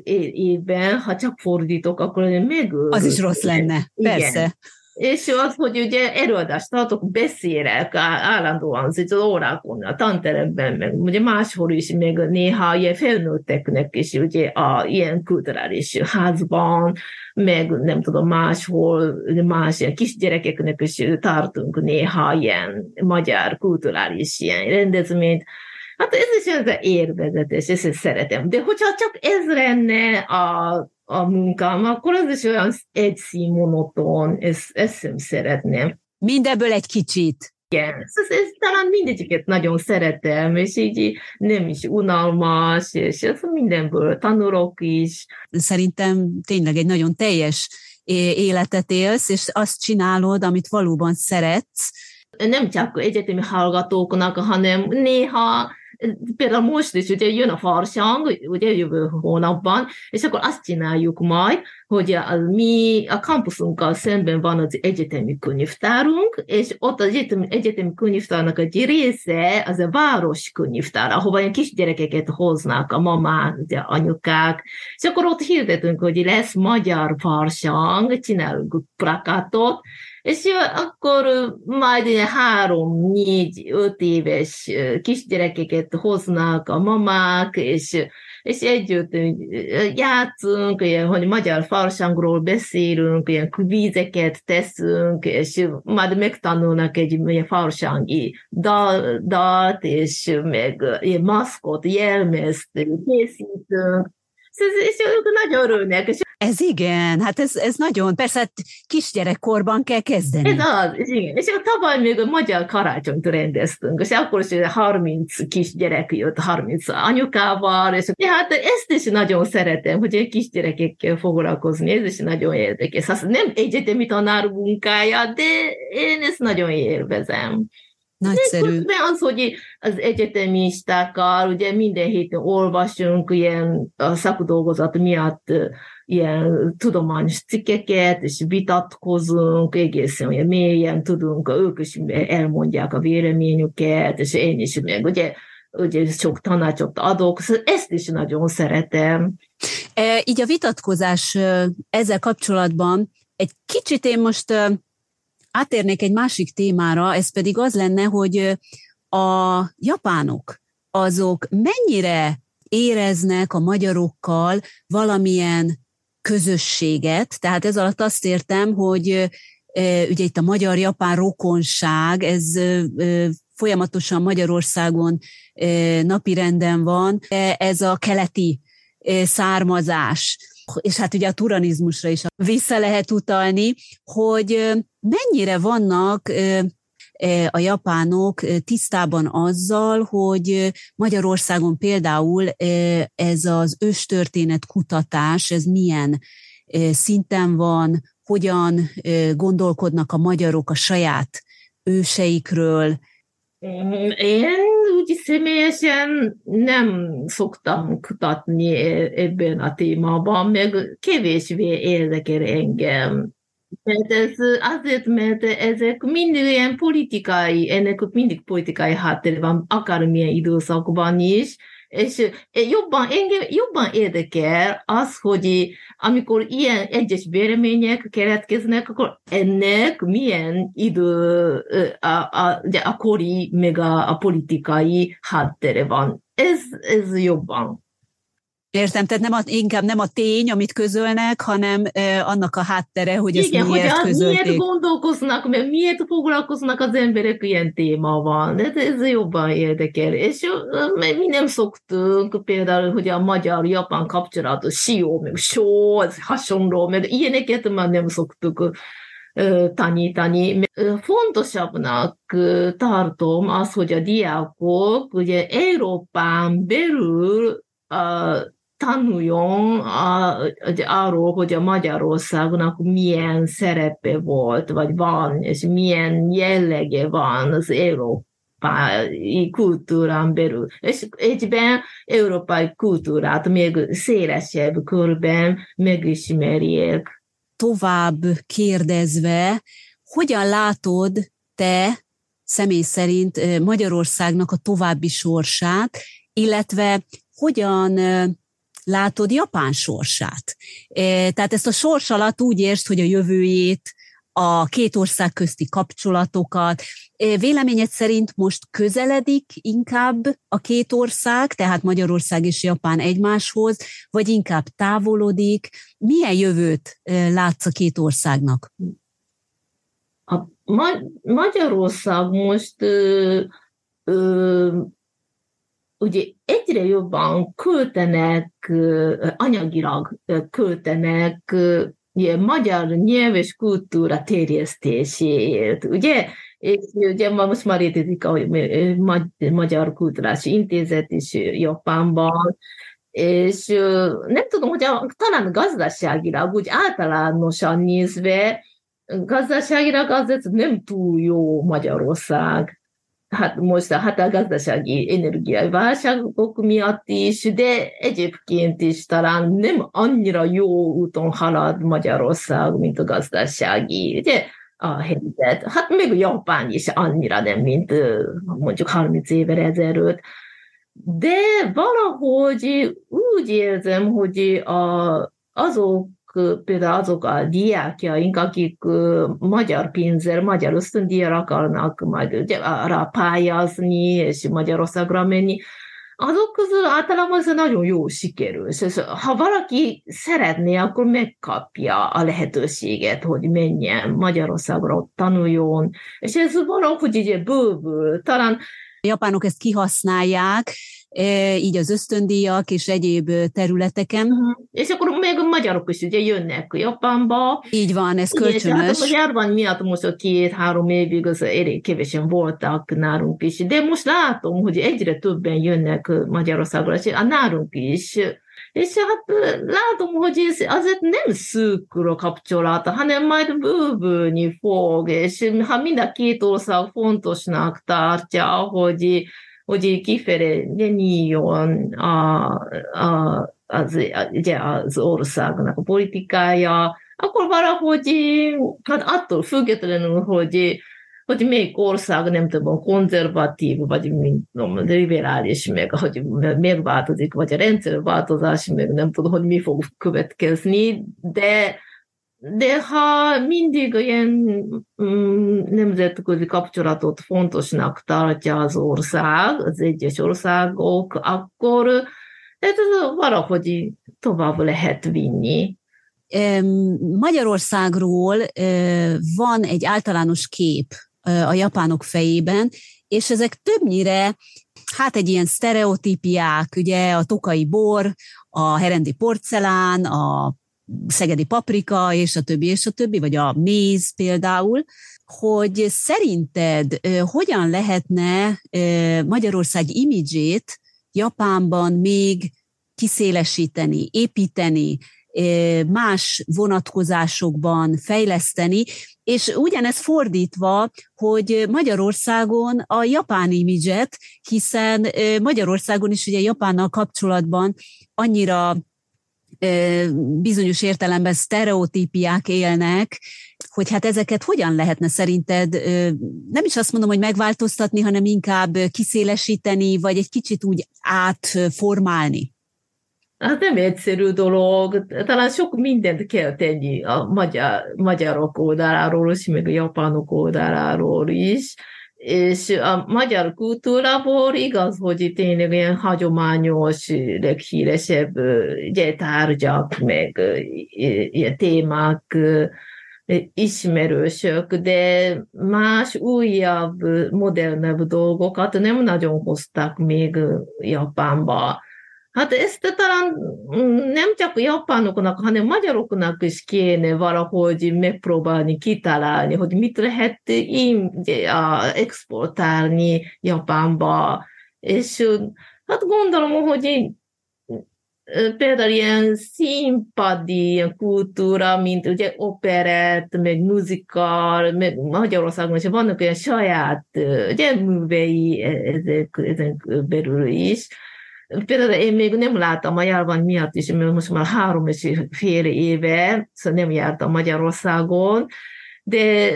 évben, ha csak fordítok, akkor megölök. Az is rossz lenne, persze. Igen. És az, hogy ugye előadást tartok, beszélek állandóan az órákon, a tanteremben, meg ugye máshol is, meg néha ilyen felnőtteknek is, ugye a ilyen kulturális házban, meg nem tudom, máshol, más ilyen kisgyerekeknek is tartunk néha ilyen magyar kulturális ilyen rendezvényt. Hát ez is az élvezetes, ezt szeretem. De hogyha csak ez lenne a a munkám, akkor az is olyan egyszínmonoton, ezt, ezt sem szeretném. Mindebből egy kicsit. Igen, ez, ez, talán mindegyiket nagyon szeretem, és így nem is unalmas, és ez mindenből tanulok is. Szerintem tényleg egy nagyon teljes életet élsz, és azt csinálod, amit valóban szeretsz. Nem csak egyetemi hallgatóknak, hanem néha például most is ugye jön a farsang, ugye jövő hónapban, és akkor azt csináljuk majd, hogy a, mi a kampuszunkkal szemben van az egyetemi könyvtárunk, és ott az egyetemi, egyetemi könyvtárnak egy része az a város könyvtár, ahova ilyen kisgyerekeket hoznak a mamák, ugye anyukák, és akkor ott hirdetünk, hogy lesz magyar farsang, csinálunk plakátot, és akkor majd ilyen három, négy, öt éves kisgyerekeket hoznak a mamák, és, és együtt játszunk, ilyen, hogy magyar farsangról beszélünk, ilyen kvízeket teszünk, és majd megtanulnak egy ilyen farsangi dal, dalt, és meg ilyen maszkot, jelmezt készítünk. És ők nagyon örülnek, és Ez igen, hát ez, ez nagyon, persze hát kisgyerekkorban kell kezdeni. Ez az, ez igen. És tavaly még a magyar karácsonyt rendeztünk, és akkor is harminc kisgyerek jött, harminc anyukával, és hát ezt is nagyon szeretem, hogy egy kisgyerekekkel foglalkozni, ez is nagyon érdekes. Hát nem egyetemi tanár munkája, de én ezt nagyon élvezem. Nagyszerű. De az, hogy az egyetemistákkal ugye minden héten olvasunk ilyen a szakdolgozat miatt ilyen tudományos cikkeket, és vitatkozunk, egészen olyan mélyen tudunk, ők is elmondják a véleményüket, és én is meg, ugye, ugye sok tanácsot adok, szóval ezt is nagyon szeretem. E, így a vitatkozás ezzel kapcsolatban egy kicsit én most átérnék egy másik témára, ez pedig az lenne, hogy a japánok azok mennyire éreznek a magyarokkal valamilyen közösséget, tehát ez alatt azt értem, hogy ugye itt a magyar-japán rokonság, ez folyamatosan Magyarországon napirenden van, ez a keleti származás, és hát ugye a turanizmusra is vissza lehet utalni, hogy mennyire vannak a japánok tisztában azzal, hogy Magyarországon például ez az őstörténet kutatás, ez milyen szinten van, hogyan gondolkodnak a magyarok a saját őseikről. Én úgy személyesen nem szoktam kutatni ebben a témában, meg kevésbé érdekel engem. Mert ez azért, mert ezek mindig ilyen politikai, ennek mindig politikai háttér van, akármilyen időszakban is, és jobban, engem jobban érdekel az, hogy amikor ilyen egyes vélemények keletkeznek, akkor ennek milyen idő a, a, a kori, meg a, a politikai háttere van. Ez, ez jobban. Értem, tehát nem a, inkább nem a tény, amit közölnek, hanem eh, annak a háttere, hogy ezt igen, miért hogy közölték. Miért gondolkoznak, mert miért foglalkoznak az emberek ilyen témával. De ez jobban érdekel. És mi nem szoktunk például, hogy a magyar-japán kapcsolatos sió, meg só, hasonló, meg ilyeneket már nem szoktuk tanítani. Fontosabbnak tartom az, hogy a diákok ugye Európán belül a tanuljon a, arról, hogy a Magyarországnak milyen szerepe volt, vagy van, és milyen jellege van az európai kultúrán belül. És egyben európai kultúrát még szélesebb körben megismerjék. Tovább kérdezve, hogyan látod te személy szerint Magyarországnak a további sorsát, illetve hogyan látod Japán sorsát? Tehát ezt a sors alatt úgy értsd, hogy a jövőjét, a két ország közti kapcsolatokat. Véleményed szerint most közeledik inkább a két ország, tehát Magyarország és Japán egymáshoz, vagy inkább távolodik? Milyen jövőt látsz a két országnak? A Magyarország most ö, ö, ugye egyre jobban költenek, anyagilag költenek ilyen magyar nyelv és kultúra terjesztéséért, ugye? És ugye most már létezik a Magyar Kulturális Intézet is Japánban, és nem tudom, hogy a, talán gazdaságilag, úgy általánosan nézve, gazdaságilag azért nem túl jó Magyarország. Hát most hát a gazdasági energiai válságok miatt is, de egyébként is talán nem annyira jó úton halad Magyarország, mint a gazdasági, ugye, a helyzet. Hát még Japán is annyira nem, mint mondjuk harminc évvel ezelőtt. De valahogy úgy érzem, hogy a, azok, például azok a diákjaink, akik magyar pénzzel, magyar ösztöndíjra akarnak majd ugye, arra pályázni, és Magyarországra menni, azok közül általában ez nagyon jó sikerül. És ha valaki szeretné, akkor megkapja a lehetőséget, hogy menjen Magyarországra, tanuljon, és ez valahogy ugye bővül. Talán a japánok ezt kihasználják, így az ösztöndíjak és egyéb területeken. Uh-huh. És akkor még a magyarok is ugye jönnek Japánba. Így van, ez igen, kölcsönös. Hát a járvány miatt most a két-három évig az elég kevesen voltak nálunk is, de most látom, hogy egyre többen jönnek Magyarországra, és nálunk is. És hát látom, hogy ez azért nem szűkül kapcsolata, hanem majd bővülni fog, és ha mind a két ország fontosnak tartja, hogy, hogy kifelé nyíljon a, a, az, ugye az országnak a politikája, akkor valahogy hát attól függetlenül, hogy hogy melyik ország nem tudom, konzervatív, vagy mint tudom, liberális, meg hogy megváltozik, vagy a rendszerváltozás, meg nem tudom, hogy mi fog következni, de, de ha mindig ilyen mm, nemzetközi kapcsolatot fontosnak tartja az ország, az egyes országok, akkor ez valahogy tovább lehet vinni. Magyarországról van egy általános kép a japánok fejében, és ezek többnyire hát egy ilyen sztereotípiák, ugye a tokai bor, a herendi porcelán, a szegedi paprika, és a többi, és a többi, vagy a méz például, hogy szerinted hogyan lehetne Magyarország imidzsét Japánban még kiszélesíteni, építeni, más vonatkozásokban fejleszteni, és ugyanez fordítva, hogy Magyarországon a japán imidzset, hiszen Magyarországon is ugye Japánnal kapcsolatban annyira bizonyos értelemben sztereotípiák élnek, hogy hát ezeket hogyan lehetne szerinted, nem is azt mondom, hogy megváltoztatni, hanem inkább kiszélesíteni, vagy egy kicsit úgy átformálni? Hát nem egyszerű dolog, talán sok mindent kell tenni a magyar, magyarok oldaláról is, meg a japánok oldaláról is, és a magyar kultúrából igaz, hogy tényleg ilyen hagyományos, leghíresebb ugye, tárgyak, meg ilyen témák ismerősök, de más újabb, modernebb dolgokat nem nagyon hoztak még Japánba. Hát ezt talán nem csak a japánoknak, hanem magyaroknak is kéne valahogy megpróbálni, kitalálni, hogy mit lehet exportálni Japánba. És hát gondolom, hogy például ilyen színpadi ilyen kultúra, mint ugye operett, meg muzikál, meg Magyarországon is vannak olyan saját ugye, művei ezek, ezek belül is. Például én még nem láttam a járvány miatt is, mert most már három és fél éve, szóval nem jártam Magyarországon, de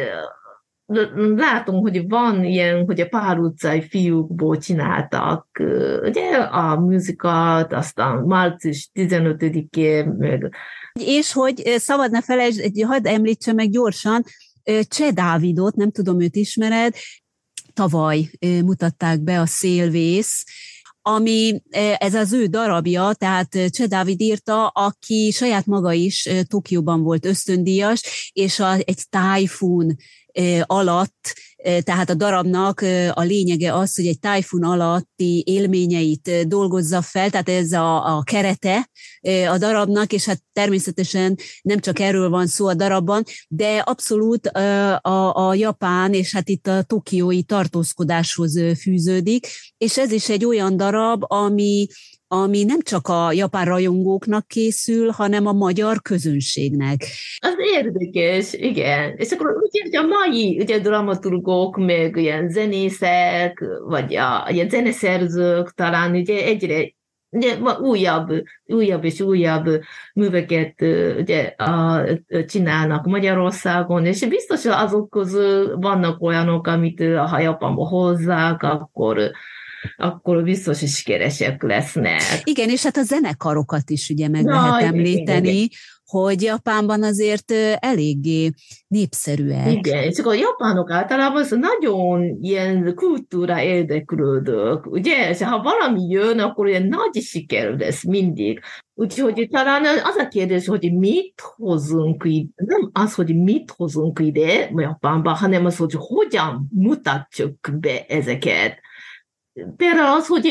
látom, hogy van ilyen, hogy a Pál utcai fiúkból csináltak ugye, a muzikát, aztán március tizenötödikén, meg... És hogy szabad ne felejtsd, hadd említsem meg gyorsan, Cseh Dávidot, nem tudom, őt ismered, tavaly mutatták be a Szélvész, ami ez az ő darabja, tehát Cseh Dávid írta, aki saját maga is Tokióban volt ösztöndíjas, és a, egy tájfun alatt, tehát a darabnak a lényege az, hogy egy tájfun alatti élményeit dolgozza fel, tehát ez a, a kerete a darabnak, és hát természetesen nem csak erről van szó a darabban, de abszolút a, a japán, és hát itt a tokiói tartózkodáshoz fűződik, és ez is egy olyan darab, ami ami nem csak a japán rajongóknak készül, hanem a magyar közönségnek. Az érdekes, igen. És akkor ugye a mai ugye, dramaturgok, meg ilyen zenészek, vagy a, ilyen zeneszerzők talán ugye egyre ugye, újabb, újabb és újabb műveket ugye, a, csinálnak Magyarországon, és biztos azok közül vannak olyanok, amit ha Japánba hozzák, akkor akkor biztos is sikeresek lesznek. Igen, és hát a zenekarokat is ugye meg Na, lehet említeni, igen, igen. hogy Japánban azért eléggé népszerűek. Igen, és akkor a japánok általában nagyon ilyen kultúra érdeklődők, ugye? És ha valami jön, akkor ilyen nagy siker lesz mindig. Úgyhogy talán az a kérdés, hogy mit hozunk ide, nem az, hogy mit hozunk ide Japánba, hanem az, hogy hogyan mutatjuk be ezeket. Például az, hogy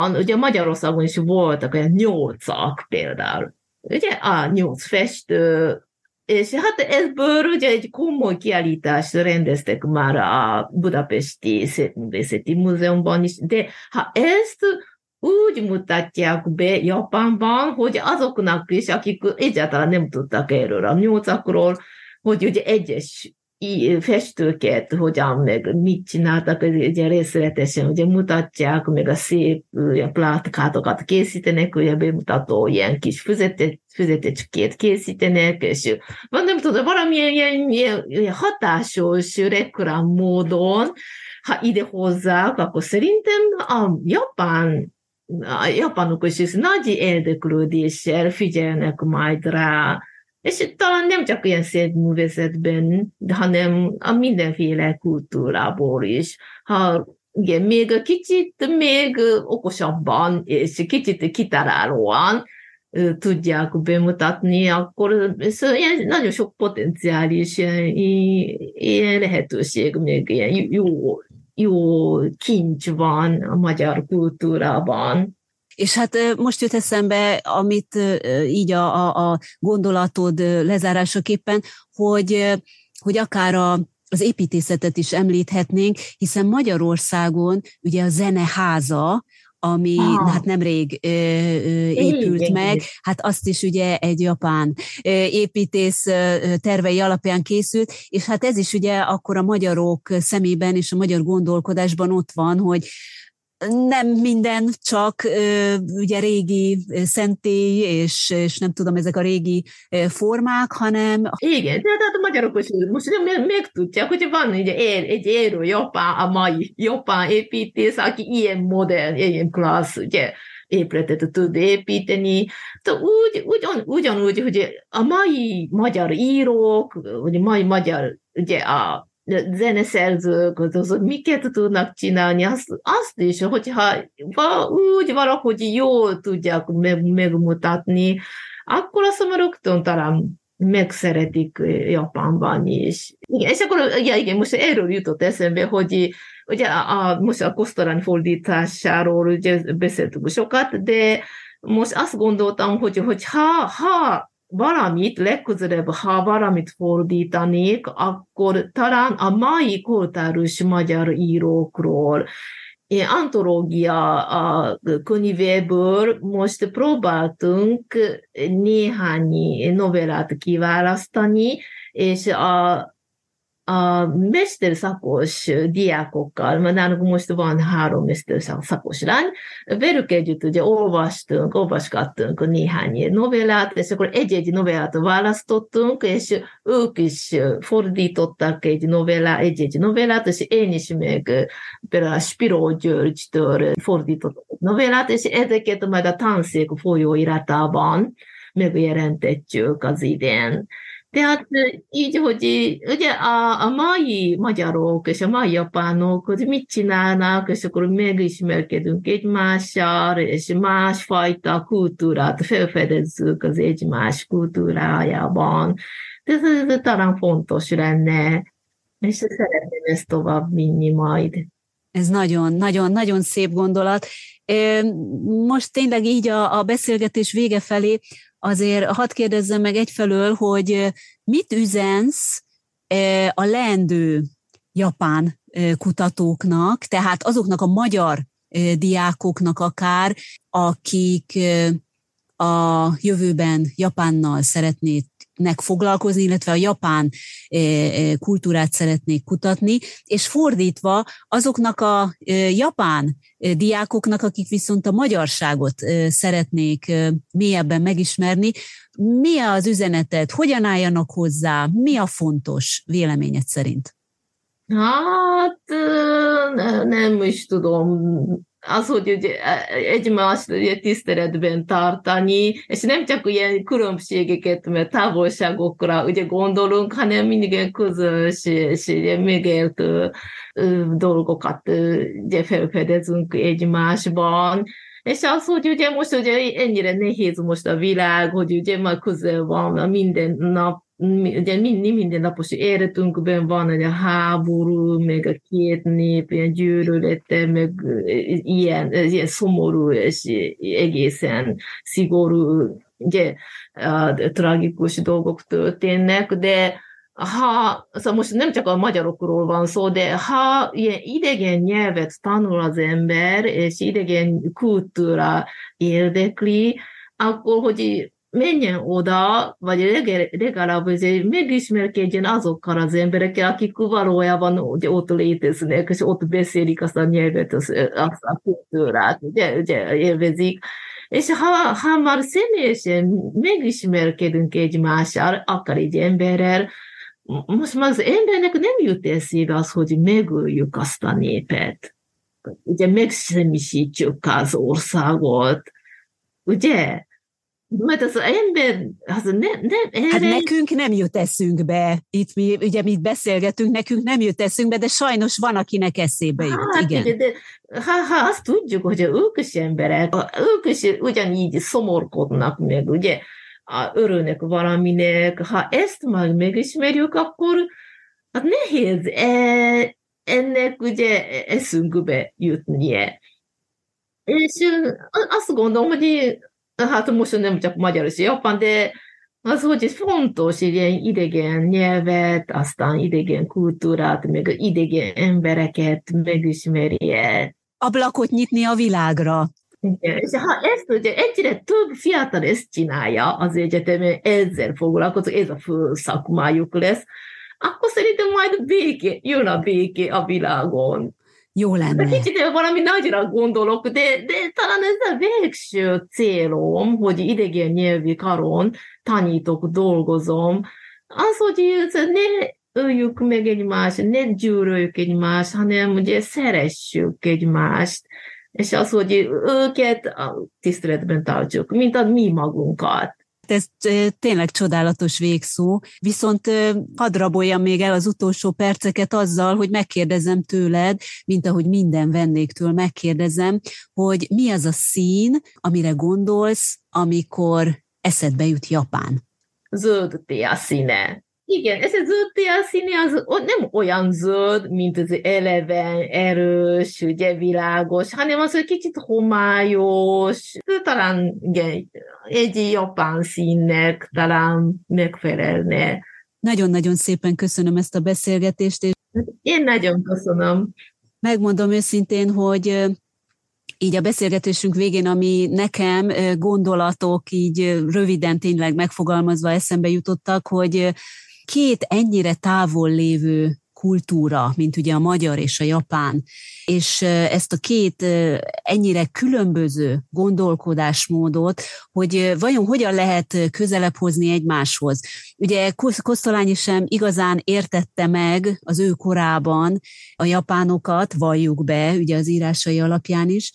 ugye Magyarországon is voltak olyan nyolcak például. Ugye a nyolc festő, és hát ebből ugye egy komoly kiállítást rendeztek már a Budapesti Szépművészeti Múzeumban is, de ha ezt úgy mutatják be Japánban, hogy azoknak is, akik egyáltalán nem tudtak erről a nyolcakról, hogy ugye egyes festőket, hogyan, meg mit csináltak, ugye részletesen ugye mutatják, meg a szép ugye, plátkátokat készítenek, ugye bemutató ilyen kis füzetet, füzetecskét készítenek, és van nem tudom, valamilyen ilyen, ilyen, ilyen hatásos reklám módon, ha ide hozzák, akkor szerintem a japán, a japánok is nagy érdeklődéssel figyelnek majd rá, és talán nem csak ilyen szép művészetben, hanem a mindenféle kultúrából is. Ha igen, még kicsit még okosabban és kicsit kitalálóan tudják bemutatni, akkor ilyen nagyon sok potenciális ilyen, ilyen lehetőség, még ilyen jó, jó kincs van a magyar kultúrában. És hát most jut eszembe, amit így a, a, a gondolatod lezárásaképpen, hogy, hogy akár a, az építészetet is említhetnénk, hiszen Magyarországon ugye a Zeneháza, ami ah. hát nemrég ö, ö, épült igen, meg, igen. Hát azt is ugye egy japán ö, építész ö, tervei alapján készült, és hát ez is ugye akkor a magyarok szemében és a magyar gondolkodásban ott van, hogy nem minden csak ö, ugye régi szentély, és, és nem tudom, ezek a régi formák, hanem... Igen, tehát a magyarok is most megtudják, hogy van ugye egy élő japán, a mai japán építész, aki ilyen modern, ilyen klassz, ugye, épületet tud építeni. Tehát úgy, ugyan, ugyanúgy, hogy a mai magyar írók, vagy a mai magyar, ugye a zeneszerzők, azok miket tudnak csinálni, azt, azt is, hogyha úgy valahogy jól tudják meg, megmutatni, akkor azt mondom, rögtön talán megszeretik Japánban is. Igen, és akkor ja, igen, most erről jutott eszembe, hogy ugye a, a, most a Kosztorány fordításáról ugye beszéltünk sokat, de most azt gondoltam, hogy, hogy ha, ha valamit, legközelebb, ha valamit fordítanék, akkor talán a mai kortárs magyar írókról, én antológia a könyvéből most próbáltunk néhány novellát kiválasztani, és a a mesterszakos diákokkal, mert nálunk most van három mesterszakos lány, velük együtt ugye olvastunk, olvasgattunk néhány novellát, és akkor egy-egy novellát választottunk, és ők is fordítottak egy novellát, egy-egy novellát, és én is meg például a Spiró Györgytől fordítottam novellát, és ezeket majd a tanszék folyóiratában megjelentetjük az idén. Tehát így, hogy ugye a, a mai magyarok és a mai japánok, hogy mit csinálnak, és akkor megismerkedünk egymással, és másfajta kultúrát felfedezzük az egymás kultúrájában. Ez, ez talán fontos lenne, és szeretném ezt tovább vinni majd. Ez nagyon, nagyon, nagyon szép gondolat. Most tényleg így a, a beszélgetés vége felé azért hadd kérdezzem meg egyfelől, hogy mit üzensz a leendő japán kutatóknak, tehát azoknak a magyar diákoknak akár, akik a jövőben Japánnal szeretnének foglalkozni, illetve a japán kultúrát szeretnék kutatni, és fordítva azoknak a japán diákoknak, akik viszont a magyarságot szeretnék mélyebben megismerni, mi az üzeneted, hogyan álljanak hozzá, mi a fontos véleményed szerint? Hát nem is tudom. Az, hogy ugye egymást ugye tiszteletben tartani, és nem csak ilyen különbségeket, mert távolságokra ugye gondolunk, hanem mindig ilyen közös és megélt dolgokat ugye felfedezünk egymásban. És az, hogy ugye most ugye ennyire nehéz most a világ, hogy ugye már közel van a minden nap ugye minden, mindennapos életünkben van egy a háború, meg a két nép, ilyen gyűlölete, meg ilyen, ilyen szomorú és egészen szigorú, ugye, tragikus dolgok történnek, de ha, szóval most nem csak a magyarokról van szó, de ha ilyen idegen nyelvet tanul az ember, és idegen kultúra érdekli, akkor, hogy menjen oda, vagy legalább megismerkedjen azokkal az emberekkel, akik valójában ugye, ott léteznek, és ott beszélik azt a nyelvet, azt, azt a kultúrát, ugye, ugye élvezik. És ha, ha már személyesen megismerkedünk egymással, akár egy emberrel, most már az embernek nem jut eszébe az, hogy megöljük azt a népet. Ugye megsemmisítjük az országot. Ugye? Mert az ember, az ne, nem erre... Hát nekünk nem jut eszünkbe. Itt mi, ugye mi beszélgetünk, nekünk nem jut eszünkbe, de sajnos van, akinek eszébe jut. Hát, igen. Ugye, de ha, ha azt tudjuk, hogy ők is emberek, ők is ugyanígy szomorkodnak meg, ugye, örülnek valaminek. Ha ezt már megismerjük, akkor hát nehéz e, ennek ugye eszünkbe jutnie. És azt gondolom, hogy hát most nem csak magyar és japán, de az, hogy fontos ilyen idegen nyelvet, aztán idegen kultúrát, meg idegen embereket megismerje. Ablakot nyitni a világra. Igen, és ha ezt ugye egyre több fiatal ezt csinálja az egyetemen, ezzel foglalkozó, ez a fő szakmájuk lesz, akkor szerintem majd béké, jön a béké a világon. Jó lenne. De kicsit valami nagyra gondolok, de, de talán ez a végső célom, hogy idegen nyelvi karon tanítok, dolgozom, az, hogy ne öljük meg egymást, ne gyűröljük egymást, hanem ugye szeressük egymást, és az, hogy őket tiszteletben tartjuk, mint a mi magunkat. Ez tényleg csodálatos végszó, viszont hadd raboljam még el az utolsó perceket azzal, hogy megkérdezem tőled, mint ahogy minden vendégtől megkérdezem, hogy mi az a szín, amire gondolsz, amikor eszedbe jut Japán? Zöld tél színe. Igen, ez a zöld tél színe az nem olyan zöld, mint az eleven, erős, ugye világos, hanem az, hogy kicsit homályos, talán igen, egy japán színnek talán megfelelne. Nagyon-nagyon szépen köszönöm ezt a beszélgetést. És én nagyon köszönöm. Megmondom őszintén, hogy így a beszélgetésünk végén, ami nekem gondolatok így röviden tényleg megfogalmazva eszembe jutottak, hogy két ennyire távol lévő kultúra, mint ugye a magyar és a japán, és ezt a két ennyire különböző gondolkodásmódot, hogy vajon hogyan lehet közelebb hozni egymáshoz. Ugye Kosztolányi sem igazán értette meg az ő korában a japánokat, valljuk be, ugye az írásai alapján is,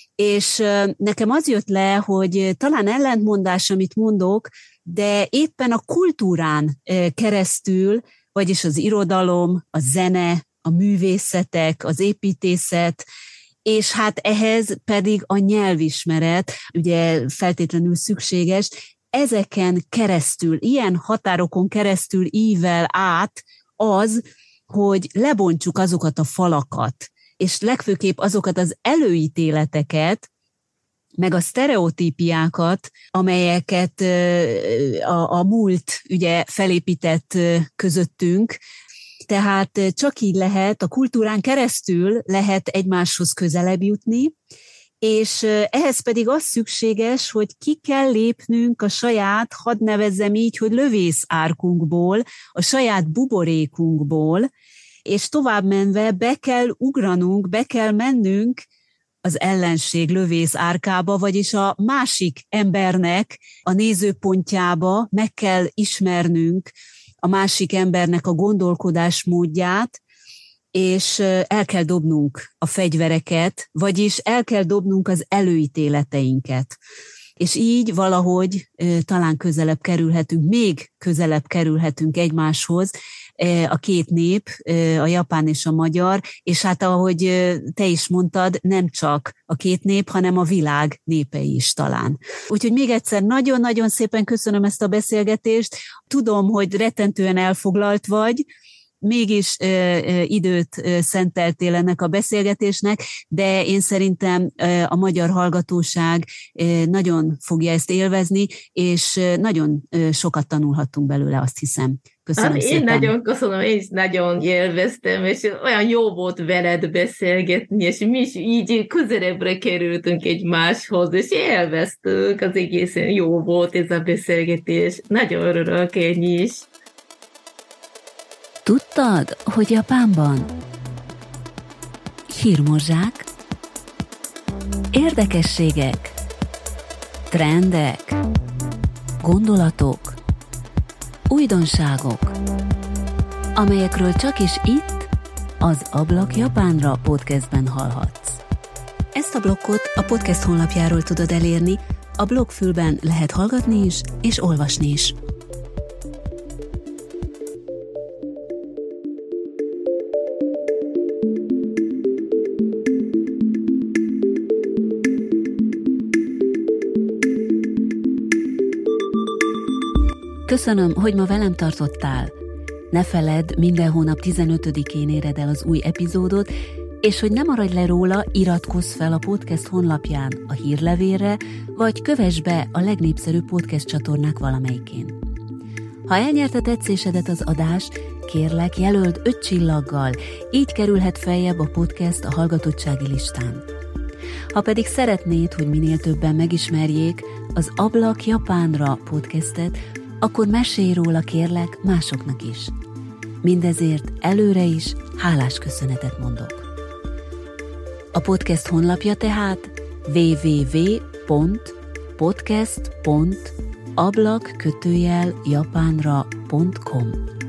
és nekem az jött le, hogy talán ellentmondás, amit mondok, de éppen a kultúrán keresztül, vagyis az irodalom, a zene, a művészetek, az építészet, és hát ehhez pedig a nyelvismeret, ugye feltétlenül szükséges, ezeken keresztül, ilyen határokon keresztül ível át az, hogy lebontsuk azokat a falakat, és legfőképp azokat az előítéleteket, meg a sztereotípiákat, amelyeket a, a múlt ugye felépített közöttünk. Tehát csak így lehet, a kultúrán keresztül lehet egymáshoz közelebb jutni, és ehhez pedig az szükséges, hogy ki kell lépnünk a saját, hadd nevezzem így, hogy lövészárkunkból, a saját buborékunkból, és tovább menve be kell ugranunk, be kell mennünk az ellenség lövész árkába, vagyis a másik embernek a nézőpontjába meg kell ismernünk a másik embernek a gondolkodásmódját, és el kell dobnunk a fegyvereket, vagyis el kell dobnunk az előítéleteinket. És így valahogy talán közelebb kerülhetünk, még közelebb kerülhetünk egymáshoz, a két nép, a japán és a magyar, és hát ahogy te is mondtad, nem csak a két nép, hanem a világ népei is talán. Úgyhogy még egyszer nagyon-nagyon szépen köszönöm ezt a beszélgetést. Tudom, hogy rettentően elfoglalt vagy, mégis ö, ö, időt ö, szenteltél ennek a beszélgetésnek, de én szerintem ö, a magyar hallgatóság ö, nagyon fogja ezt élvezni, és ö, nagyon ö, sokat tanulhattunk belőle, azt hiszem. Köszönöm hát szépen. Én nagyon köszönöm, én is nagyon élveztem, és olyan jó volt veled beszélgetni, és mi is így közelebbre kerültünk egymáshoz, és élveztünk, az egészen jó volt ez a beszélgetés. Nagyon örülök én is. Tudtad, hogy Japánban hírmorzsák, érdekességek, trendek, gondolatok, újdonságok, amelyekről csak is itt, az Ablak Japánra podcastben hallhatsz. Ezt a blokkot a podcast honlapjáról tudod elérni, a blogfülben lehet hallgatni is és olvasni is. Köszönöm, hogy ma velem tartottál. Ne feledd, minden hónap tizenötödikén éred el az új epizódot, és hogy ne maradj le róla, iratkozz fel a podcast honlapján a hírlevélre, vagy kövess be a legnépszerűbb podcast csatornák valamelyikén. Ha elnyerte tetszésedet az adás, kérlek, jelöld öt csillaggal, így kerülhet feljebb a podcast a hallgatottsági listán. Ha pedig szeretnéd, hogy minél többen megismerjék az Ablak Japánra podcastet, akkor mesélj róla, kérlek, másoknak is. Mindezért előre is hálás köszönetet mondok. A podcast honlapja tehát double-u double-u double-u pont podcast pont ablak kötőjel japánra pont com.